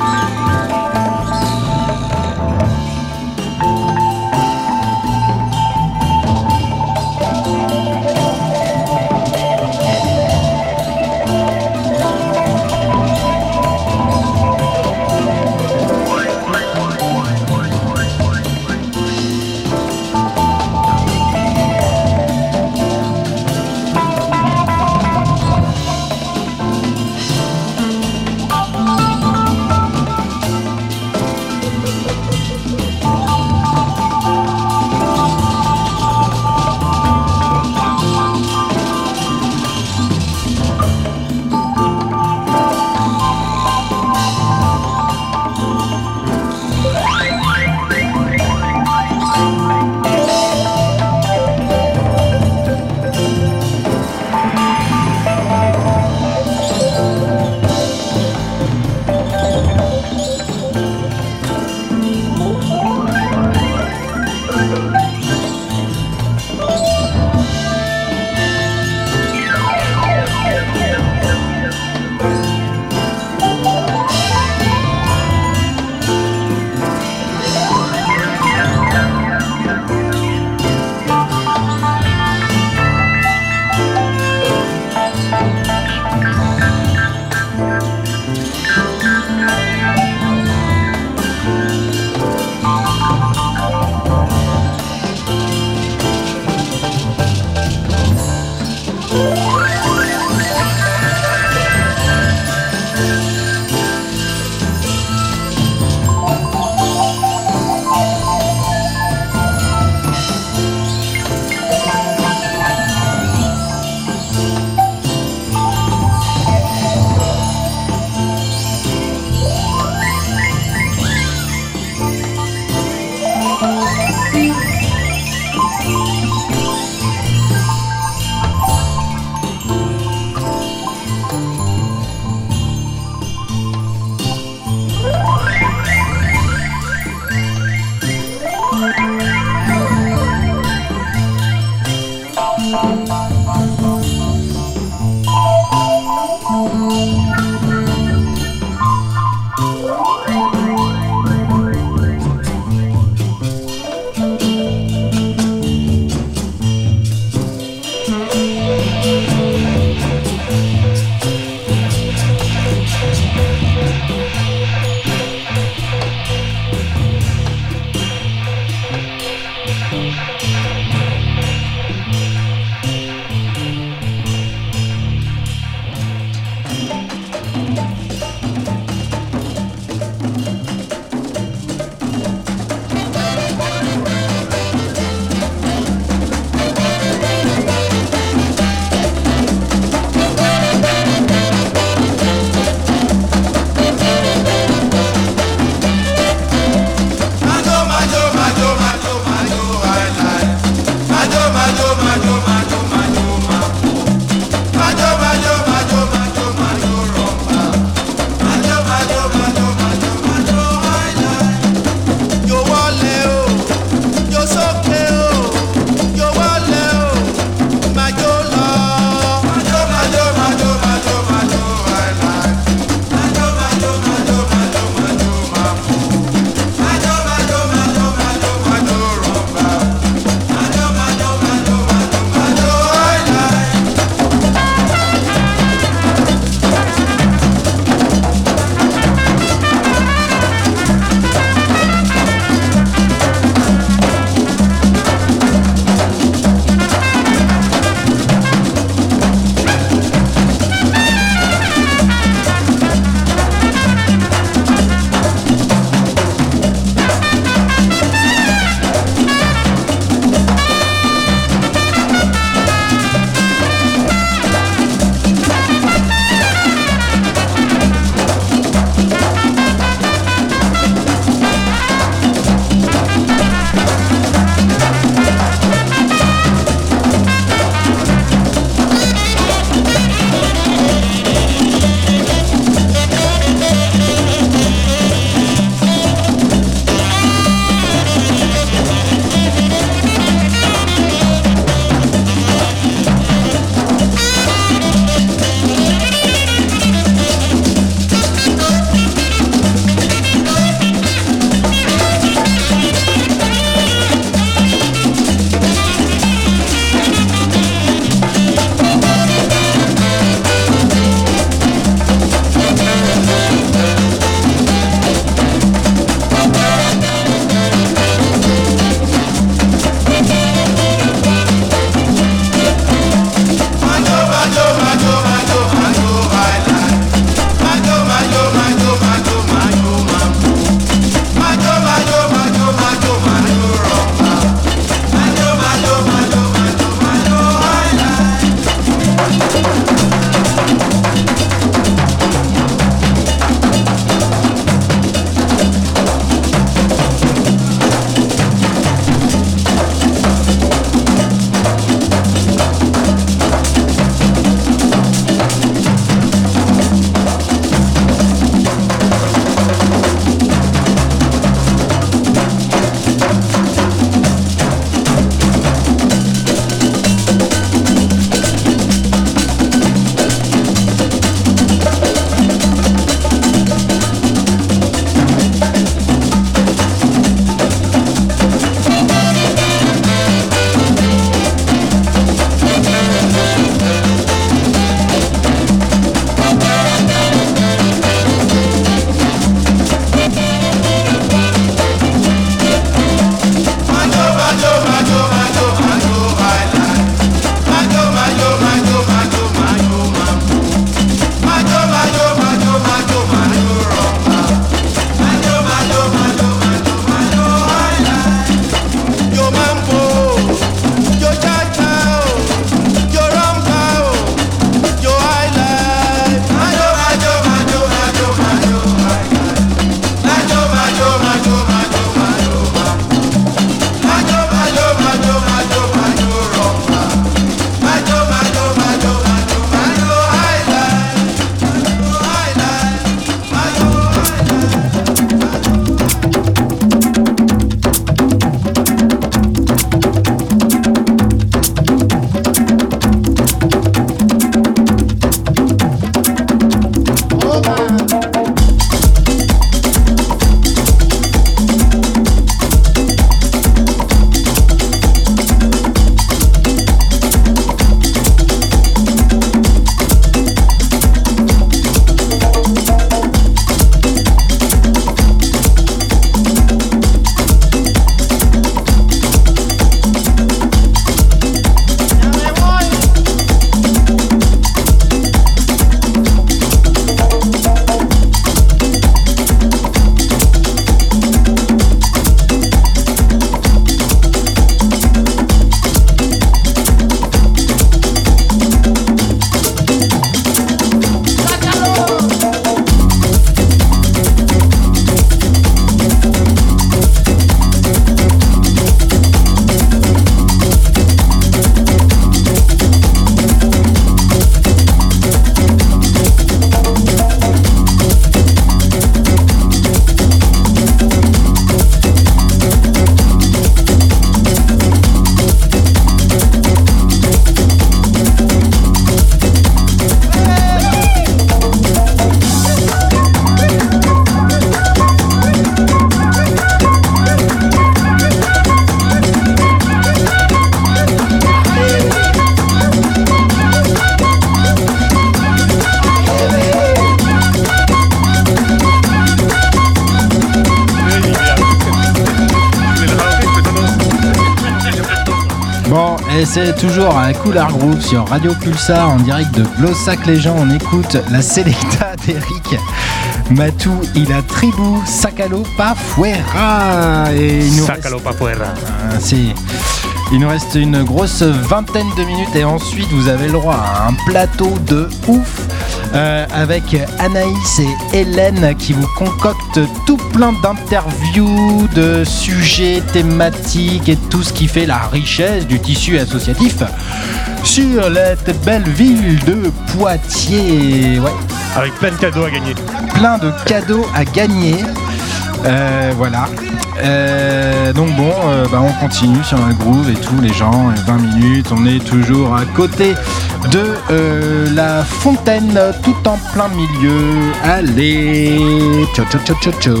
Et c'est toujours à Couleur Groove sur Radio Pulsar en direct de Blossac-les-Gens. On écoute la Selecta d'Eric Matou y la tribu Sácalo pa fuera. Et Sácalo pa fuera. Il nous reste une grosse vingtaine de minutes et ensuite vous avez le droit à un plateau de ouf avec Anaïs et Hélène qui vous concoctent tout plein d'interviews, de sujets thématiques et tout ce qui fait la richesse du tissu associatif sur cette belle ville de Poitiers. Ouais. Avec plein de cadeaux à gagner. Plein de cadeaux à gagner. Voilà. Donc bon, on continue sur la groove et tout, les gens, 20 minutes, on est toujours à côté de la fontaine, tout en plein milieu. Allez, ciao ciao ciao ciao ciao.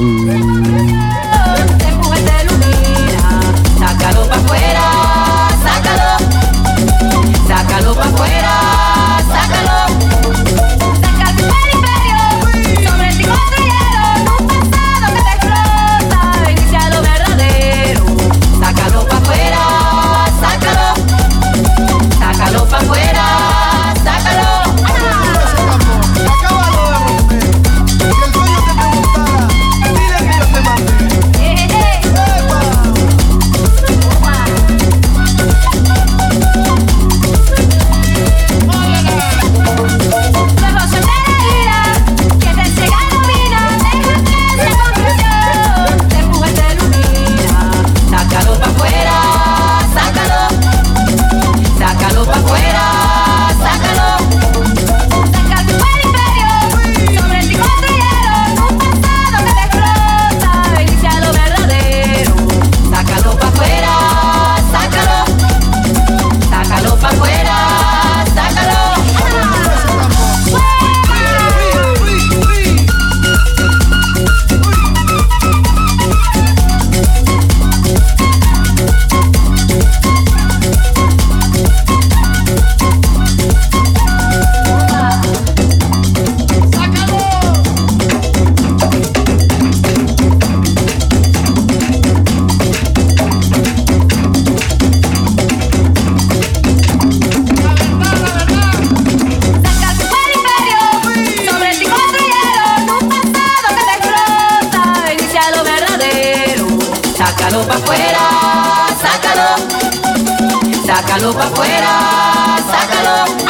Sácalo pa' fuera, sácalo. Sácalo pa' fuera, sácalo. Saca tu imperio. Sobre ti construyeron un pasado que te explota. Inicia lo verdadero. Sácalo pa' fuera, sácalo. Sácalo pa' fuera, sácalo. Acábalo de romper. Si el sueño te preguntara, dile que yo te mandé. Sácalo pa' afuera, sácalo.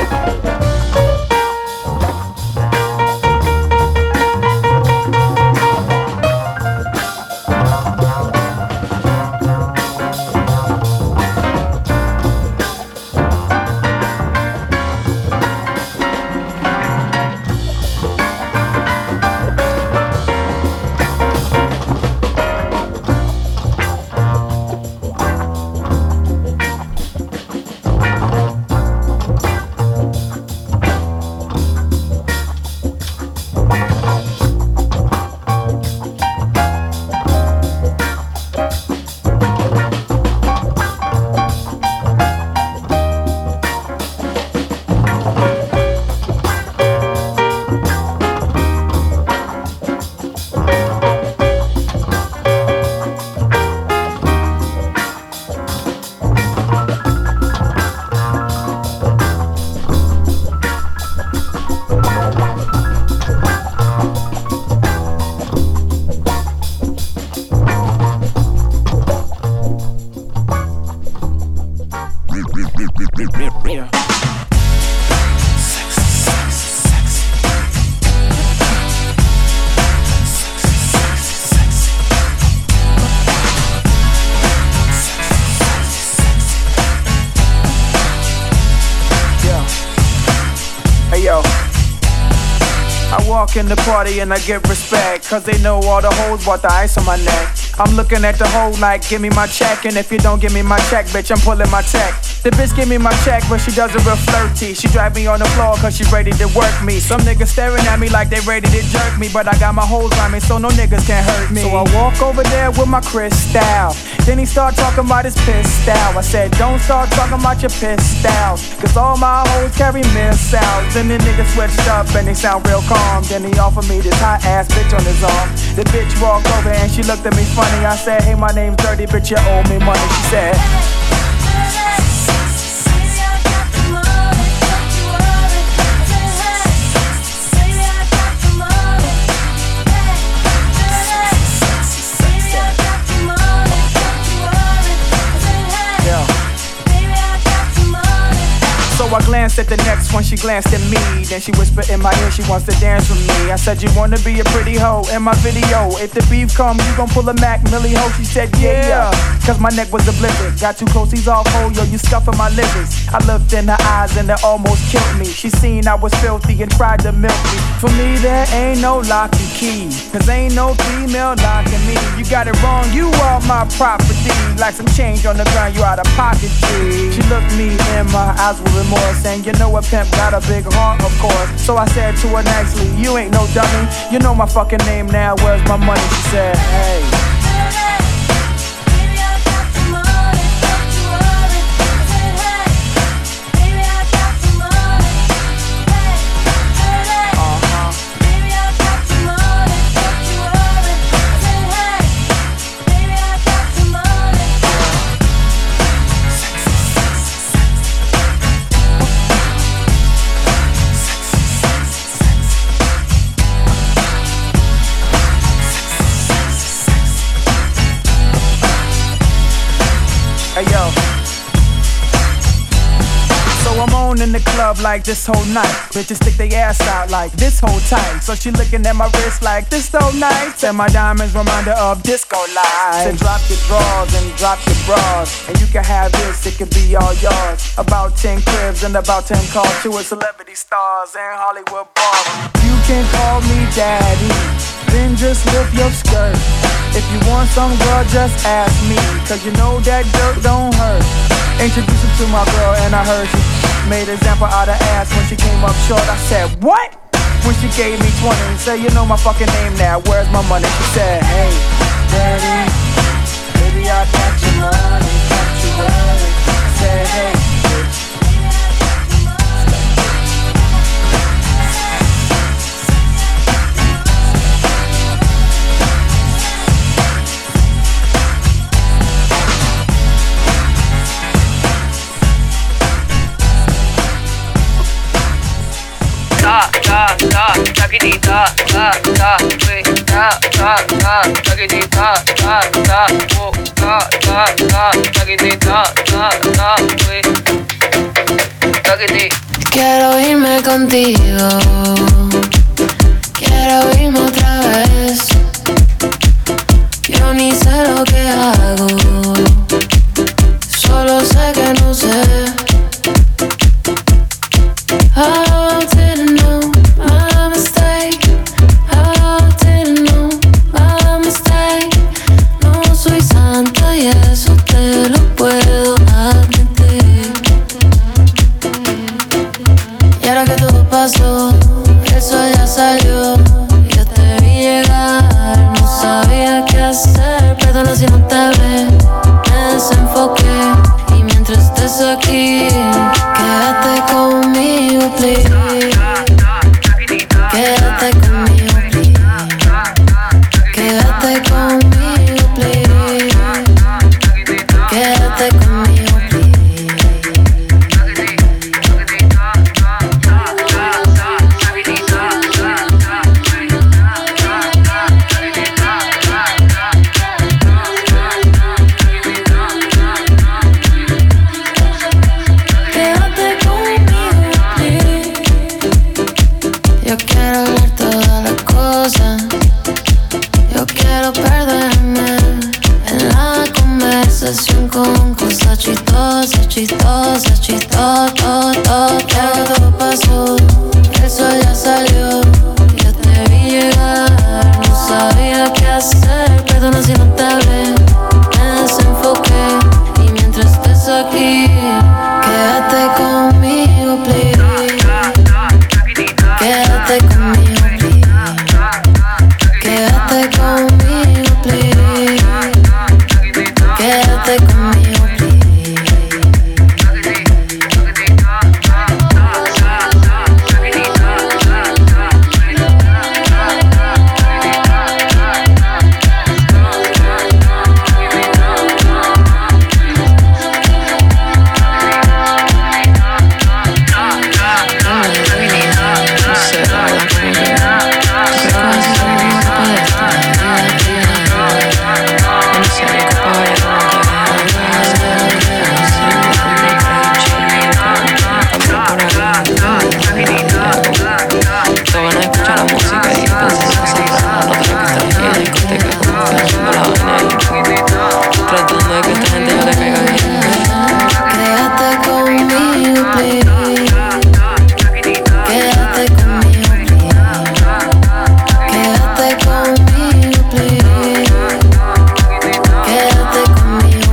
walk in the party and I get respect, cause they know all the hoes bought the ice on my neck. I'm looking at the hoe like, give me my check, and if you don't give me my check, bitch, I'm pulling my check. The bitch give me my check, but she does it real flirty. She drive me on the floor cause she ready to work me. Some niggas staring at me like they ready to jerk me, but I got my hoes on me so no niggas can hurt me. So I walk over there with my crystal. Then he start talking about his piss style. I said, don't start talking about your piss style, cause all my hoes carry missiles. Then the niggas switched up and they sound real calm. Then he offered me this hot ass bitch on his arm. The bitch walked over and she looked at me funny. I said, hey, my name's Dirty, bitch, you owe me money. She said, so I glanced at the next one, she glanced at me. Then she whispered in my ear, she wants to dance with me. I said, you wanna be a pretty hoe in my video? If the beef comes, you gon' pull a Mac Millie hoe? She said, yeah, cause my neck was a blizzard. Got too close, he's off, ho, yo, you scuffing my livers. I looked in her eyes and it almost killed me. She seen I was filthy and tried to milk me. For me, there ain't no lock and key, cause ain't no female locking me. You got it wrong, you are my property. Like some change on the ground, you out of pocket, G. She looked me in my eyes with remorse, and you know a pimp got a big heart, of course. So I said to her nicely, you ain't no dummy. You know my fucking name now, where's my money? She said, hey. Hey yo, so I'm on in the club like this whole night. Bitches stick their ass out like this whole time. So she looking at my wrist like this so nice, and my diamonds reminder of disco lights. So drop your drawers and drop your bras, and you can have this, it could be all yours. About 10 cribs and about 10 cars to a celebrity stars and Hollywood bars. You can call me daddy, then just lift your skirt. If you want some, girl, just ask me, cause you know that dirt don't hurt. Introduce her to my girl and I heard she made an example out of ass when she came up short. I said, what? When she gave me 20 and said, you know my fucking name now, where's my money? She said, hey, daddy, baby, I got your money, got your money. I said, hey, bitch. Quiero irme contigo, quiero irme otra vez. Yo ni sé lo que hago, solo sé que no sé. I didn't know my mistake, I didn't know my mistake. No soy santa y eso te lo puedo admitir. Y ahora que todo pasó, el sol ya salió, yo te vi llegar, no sabía qué hacer. Perdona si no te hablé, me desenfoqué. Y mientras estés aquí, quédate conmigo, please. Quédate conmigo, please. Quédate conmigo, please. Quédate conmigo, please. Quédate conmigo, please. Yo quiero ver todas las cosas. Yo quiero perderme en la conversación con cosas chistosas, chistosas, chistosas. Ya que todo pasó, el sol ya salió, yo te vi llegar, no sabía qué hacer. Perdona si no te hablé, me desenfoqué. Y mientras estés aquí, quédate conmigo, please. Quédate conmigo, please. Quédate conmigo, please. Quédate conmigo, please. Quédate conmigo, please. Quédate conmigo, please. Quédate conmigo, please. Quédate conmigo,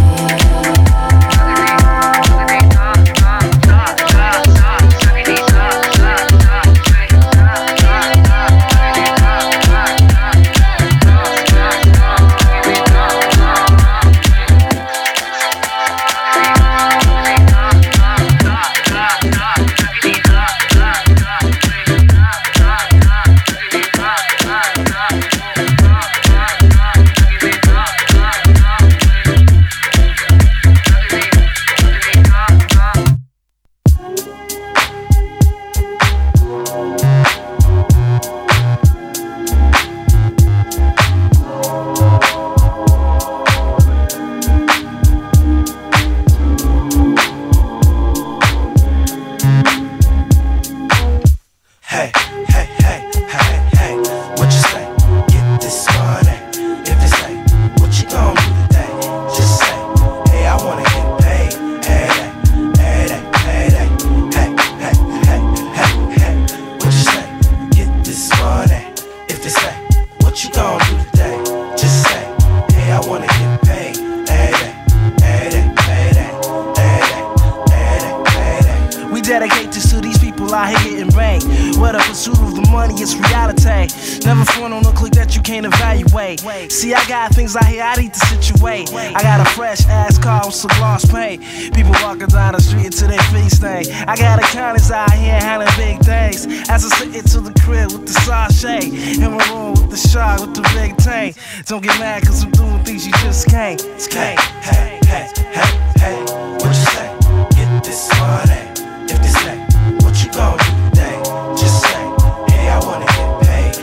dedicate this to these people out here getting ranked. Where the pursuit of the money is reality. Never phone on a click that you can't evaluate. See, I got things out here I need to situate. I got a fresh ass car with some gloss paint. People walking down the street until their feet stink. I got accountants out here handling big things. As I sit into the crib with the sachet. In my room with the shark with the big tank. Don't get mad cause I'm doing things you just can't. Hey, hey, hey, hey, hey. What you say? Get this money. If this ain't what you gon' do today, just say, hey, I wanna get paid.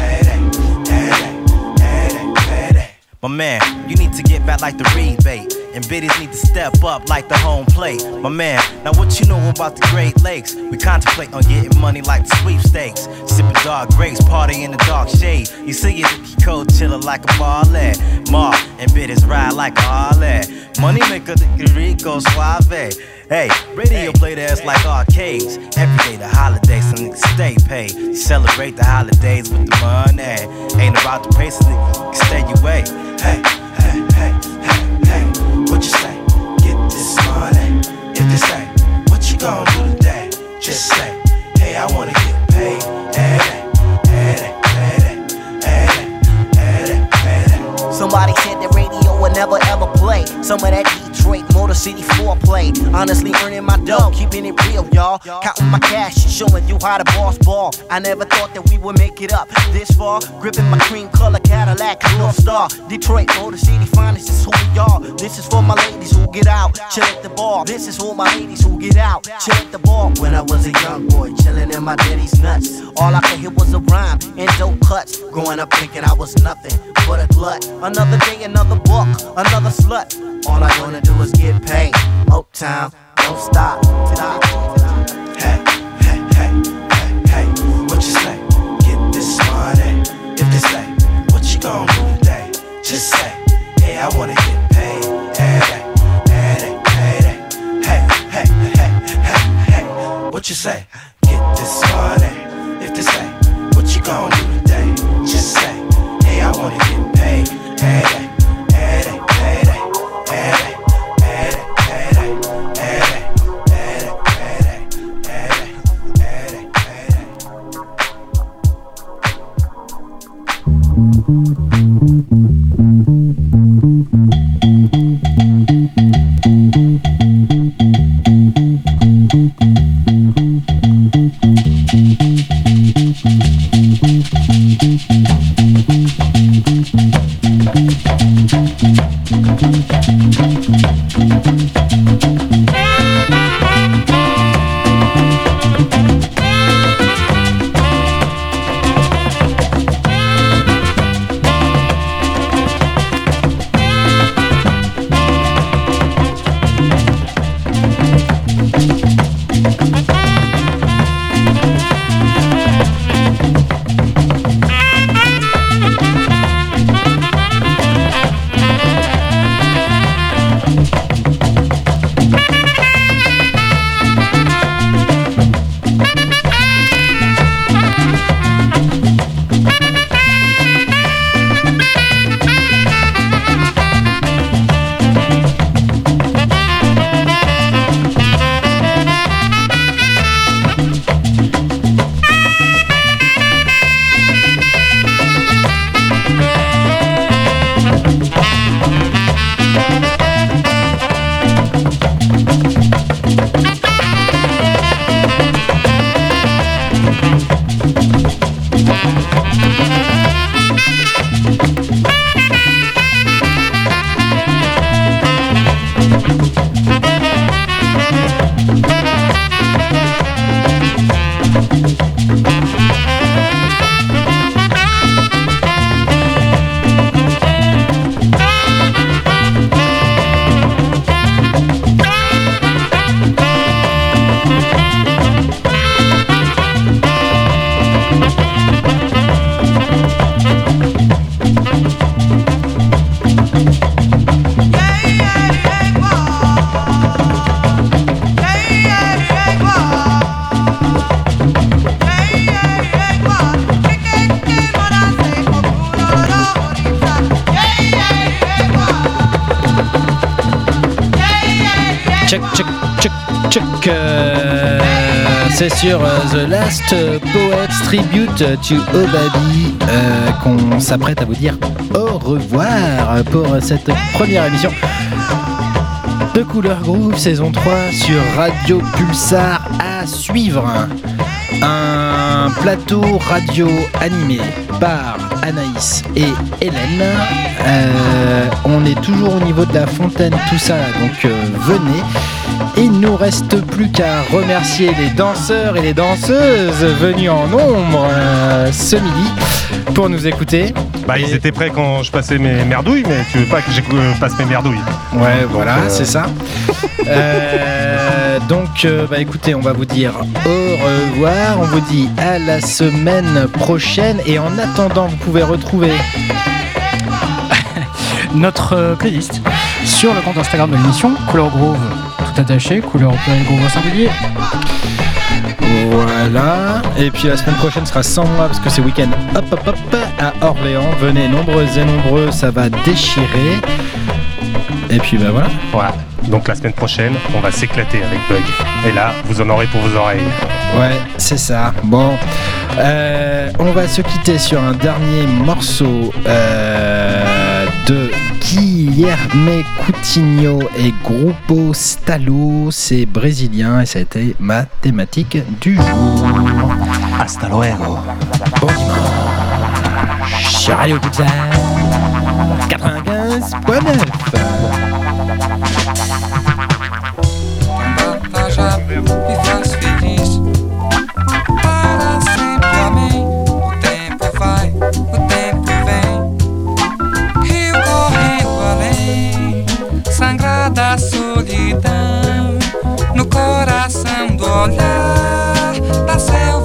My man, you need to get back like the rebate. and biddies need to step up like the home plate. My man, now what you know about the Great Lakes? We contemplate on getting money like the sweepstakes. Sipping dark grapes, party in the dark shade. You see it, the cold chiller like a ballet. Mar and biddies ride like a Harley. Money maker, the Rico Suave. Hey, radio play the ass like arcades. Every day the holidays, some niggas stay paid. Celebrate the holidays with the money. Ain't about the pace, nigga, stay away. Hey, hey, hey, hey, hey, what you say? Get this money. If they say, what you gon' do today? Just say, hey, I wanna get paid. Hey, hey, hey, hey, hey, hey. Somebody said the radio would never ever play some of that Detroit Motor City foreplay. Honestly earning my dough, keeping it real, y'all. Counting my cash, showing you how the boss ball. I never thought that we would make it up this far. Gripping my cream color Cadillac, North Star. Detroit Motor City finest is who we are. This is for my ladies who get out, chill at the bar. This is for my ladies who get out, chill at the bar. When I was a young boy, chilling in my daddy's nuts. All I could hear was a rhyme and dope cuts. Growing up thinking I was nothing but a glut. Another day, another buck, another slut. All I wanna do is get paid. Uptown, don't stop. Hey, hey, hey, hey, hey, what you say? Get this money. If they say, what you gon' do today? Just say, hey, I wanna get paid. Hey, hey, hey, hey, hey, hey, hey, hey, what you say? Get this money. If they say, what you gon' do today? Just say, hey, I wanna get paid. Hey, hey, hey, hey, hey. C'est sur The Last Poets Tribute to Obabi qu'on s'apprête à vous dire au revoir pour cette première émission de Couleur Groove saison 3 sur Radio Pulsar. À suivre un plateau radio animé par Anaïs et Hélène. On est toujours au niveau de la fontaine, tout ça, donc venez. il nous reste plus qu'à remercier les danseurs et les danseuses venus en nombre ce midi pour nous écouter. Bah, ils étaient prêts quand je passais mes merdouilles, mais tu veux pas que je passe mes merdouilles. Ouais, voilà, c'est ça. Donc, écoutez, on va vous dire au revoir. On vous dit à la semaine prochaine. Et en attendant, vous pouvez retrouver notre playlist sur le compte Instagram de l'émission, Couleur Groove tout attaché, Couleur Groove au singulier. Voilà. Et puis la semaine prochaine sera sans moi parce que c'est week-end hop à Orléans. Venez nombreuses et nombreux, ça va déchirer. Et puis voilà. Voilà. Donc la semaine prochaine, on va s'éclater avec Bug. Et là, vous en aurez pour vos oreilles. Ouais, c'est ça. Bon, on va se quitter sur un dernier morceau de Guilherme Coutinho et Grupo Stalo. C'est brésilien et ça a été ma thématique du jour. Hasta luego. Bon dimanche sur Radio Pulsar 95.9. Já me faz feliz. Para sempre, amém. O tempo vai, o tempo vem. Rio correndo além, sangrada solidão. No coração do olhar da selva.